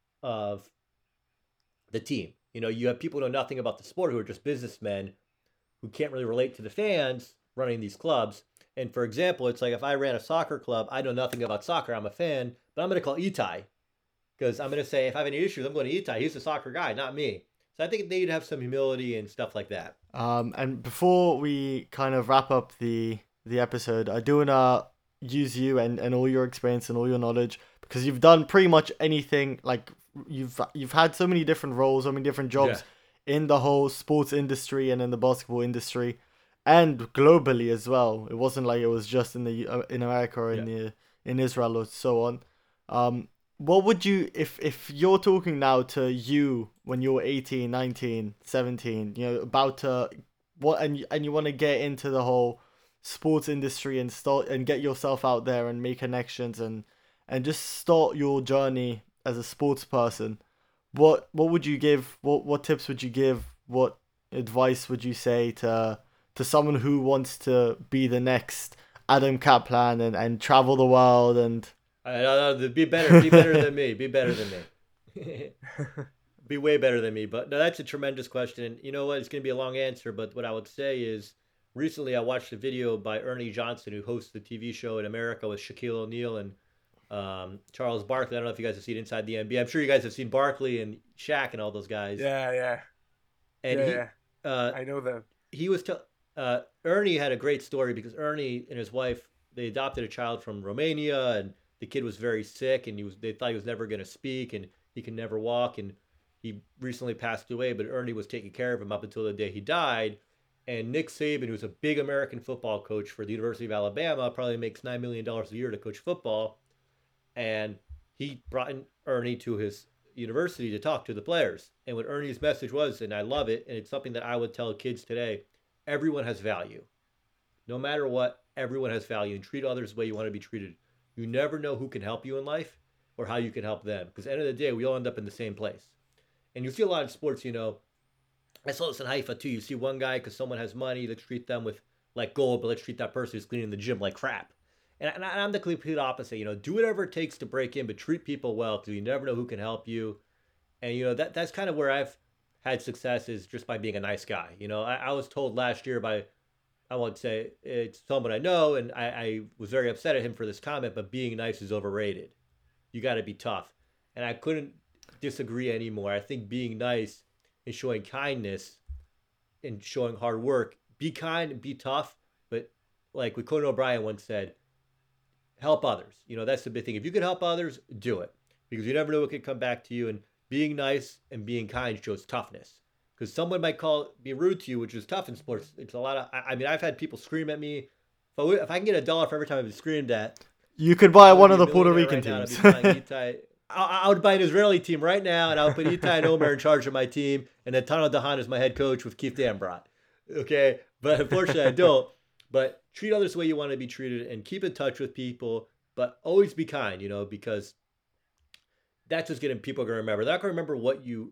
of the team. You know, you have people who know nothing about the sport who are just businessmen who can't really relate to the fans running these clubs. And for example, it's like if I ran a soccer club, I know nothing about soccer. I'm a fan, but I'm going to call Itai because I'm going to say if I have any issues, I'm going to Itai. He's the soccer guy, not me. So I think they need to have some humility and stuff like that. Um, and before we kind of wrap up the the episode, I do want to use you and, and all your experience and all your knowledge because you've done pretty much anything. Like you've you've had so many different roles, so many different jobs yeah. in the whole sports industry and in the basketball industry. And globally as well. It wasn't like it was just in the uh, in America or in yeah. the in Israel or so on. Um, what would you if if you're talking now to you when you're eighteen, nineteen, seventeen, you know, about to what and and you want to get into the whole sports industry and start and get yourself out there and make connections and and just start your journey as a sports person. What what would you give? What what tips would you give? What advice would you say to to someone who wants to be the next Adam Kaplan and, and travel the world and I don't know, be better, be better than me, be better than me, be way better than me. But no, that's a tremendous question. And you know what? It's going to be a long answer, but what I would say is recently I watched a video by Ernie Johnson, who hosts the T V show in America with Shaquille O'Neal and um, Charles Barkley. I don't know if you guys have seen Inside the N B A. I'm sure you guys have seen Barkley and Shaq and all those guys. Yeah, yeah. And yeah, he, yeah. Uh, I know them. He was telling. Uh, Ernie had a great story because Ernie and his wife, they adopted a child from Romania and the kid was very sick and he was they thought he was never going to speak and he could never walk and he recently passed away, but Ernie was taking care of him up until the day he died. And Nick Saban, who's a big American football coach for the University of Alabama, probably makes nine million dollars a year to coach football. And he brought in Ernie to his university to talk to the players. And what Ernie's message was, and I love it, and it's something that I would tell kids today, everyone has value. No matter what, everyone has value, and treat others the way you want to be treated. You never know who can help you in life or how you can help them. Because at the end of the day, we all end up in the same place. And you see a lot of sports, you know, I saw this in Haifa too. You see one guy, because someone has money, let's treat them with like gold, but let's treat that person who's cleaning the gym like crap. And, and I'm the complete opposite. You know, do whatever it takes to break in, but treat people well because you never know who can help you. And, you know, that that's kind of where I've had success is just by being a nice guy. You know, I, I was told last year by, I won't say it's someone I know, and I, I was very upset at him for this comment, but being nice is overrated. You got to be tough. And I couldn't disagree anymore. I think being nice and showing kindness and showing hard work, be kind and be tough, but like what Conan O'Brien once said, help others. You know, that's the big thing. If you can help others, do it. Because you never know what can come back to you. And being nice and being kind shows toughness. Because someone might call be rude to you, which is tough in sports. It's a lot of, I, I mean, I've had people scream at me. If I, would, if I can get a dollar for every time I've been screamed at, you could buy one of the Puerto Rican right teams. I, I would buy an Israeli team right now, and I would put Itai and Omer in charge of my team, and then Tano Dahan is my head coach with Keith Dambrot. Okay? But unfortunately, I don't. But treat others the way you want to be treated, and keep in touch with people, but always be kind, you know, because that's just going to, people are going to remember. They're not going to remember what you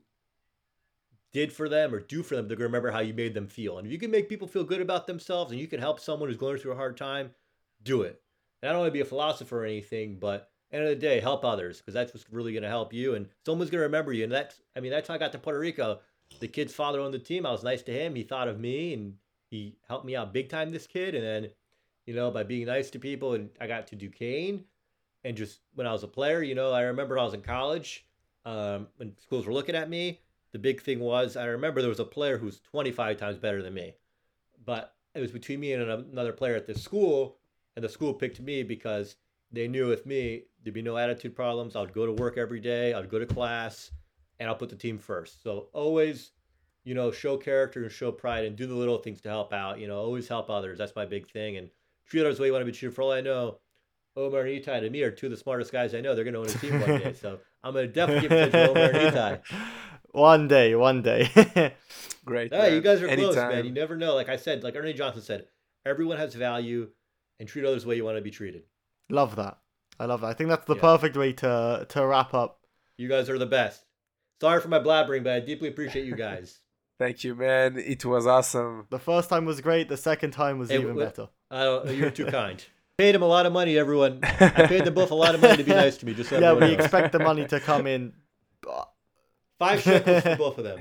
did for them or do for them. They're going to remember how you made them feel. And if you can make people feel good about themselves and you can help someone who's going through a hard time, do it. And I don't want to be a philosopher or anything, but end of the day, help others, because that's what's really going to help you, and someone's going to remember you. And that's, I mean, that's how I got to Puerto Rico. The kid's father owned the team. I was nice to him. He thought of me, and he helped me out big time, this kid. And then, you know, by being nice to people, and I got to Duquesne. And just when I was a player, you know, I remember I was in college, um, when schools were looking at me, the big thing was, I remember there was a player who was twenty-five times better than me. But it was between me and another player at this school, and the school picked me because they knew with me, there'd be no attitude problems. I would go to work every day. I would go to class, and I'll put the team first. So always, you know, show character and show pride and do the little things to help out. You know, always help others. That's my big thing. And treat others the way you want to be treated. For all I know, Omer and Itai to me are two of the smartest guys I know. They're going to own a team one day. So I'm going to definitely give it to Omer and Itai. One day, one day. Great. Hey, you guys are Anytime. close, man. You never know. Like I said, like Ernie Johnson said, everyone has value, and treat others the way you want to be treated. Love that. I love that. I think that's the Yeah. perfect way to to wrap up. You guys are the best. Sorry for my blabbering, but I deeply appreciate you guys. Thank you, man. It was awesome. The first time was great. The second time was Hey, even w- better. I don't. You're too kind. Paid them a lot of money, everyone. I paid them both a lot of money to be nice to me. Just so Yeah, everyone we knows. expect the money to come in. Five shekels for both of them.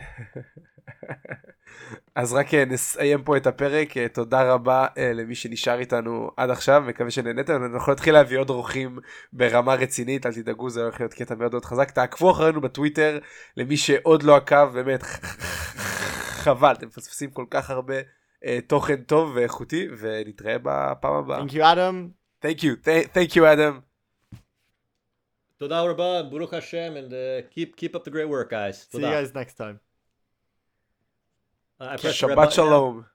אז רק אה, נסיים פה את הפרק. אה, תודה רבה אה, למי שנשאר איתנו עד עכשיו, מקווה שנהנתם. אנחנו נתחיל להביא עוד אורחים ברמה רצינית, אל תדאגו, זה הולך להיות קטע מאוד מאוד חזק. תעקבו אחרינו בטוויטר, למי שעוד לא עקב, באמת חבל, אתם מפספסים כל כך הרבה אה, תוכן טוב ואיכותי, ונתראה בפעם הבאה. Thank you, Adam. Thank you, Th- thank you Adam. Toda Rabba, Baruch Hashem, and uh, keep keep up the great work, guys. See you Toda. guys next time. Uh, I press the red Shabbat button now. shalom.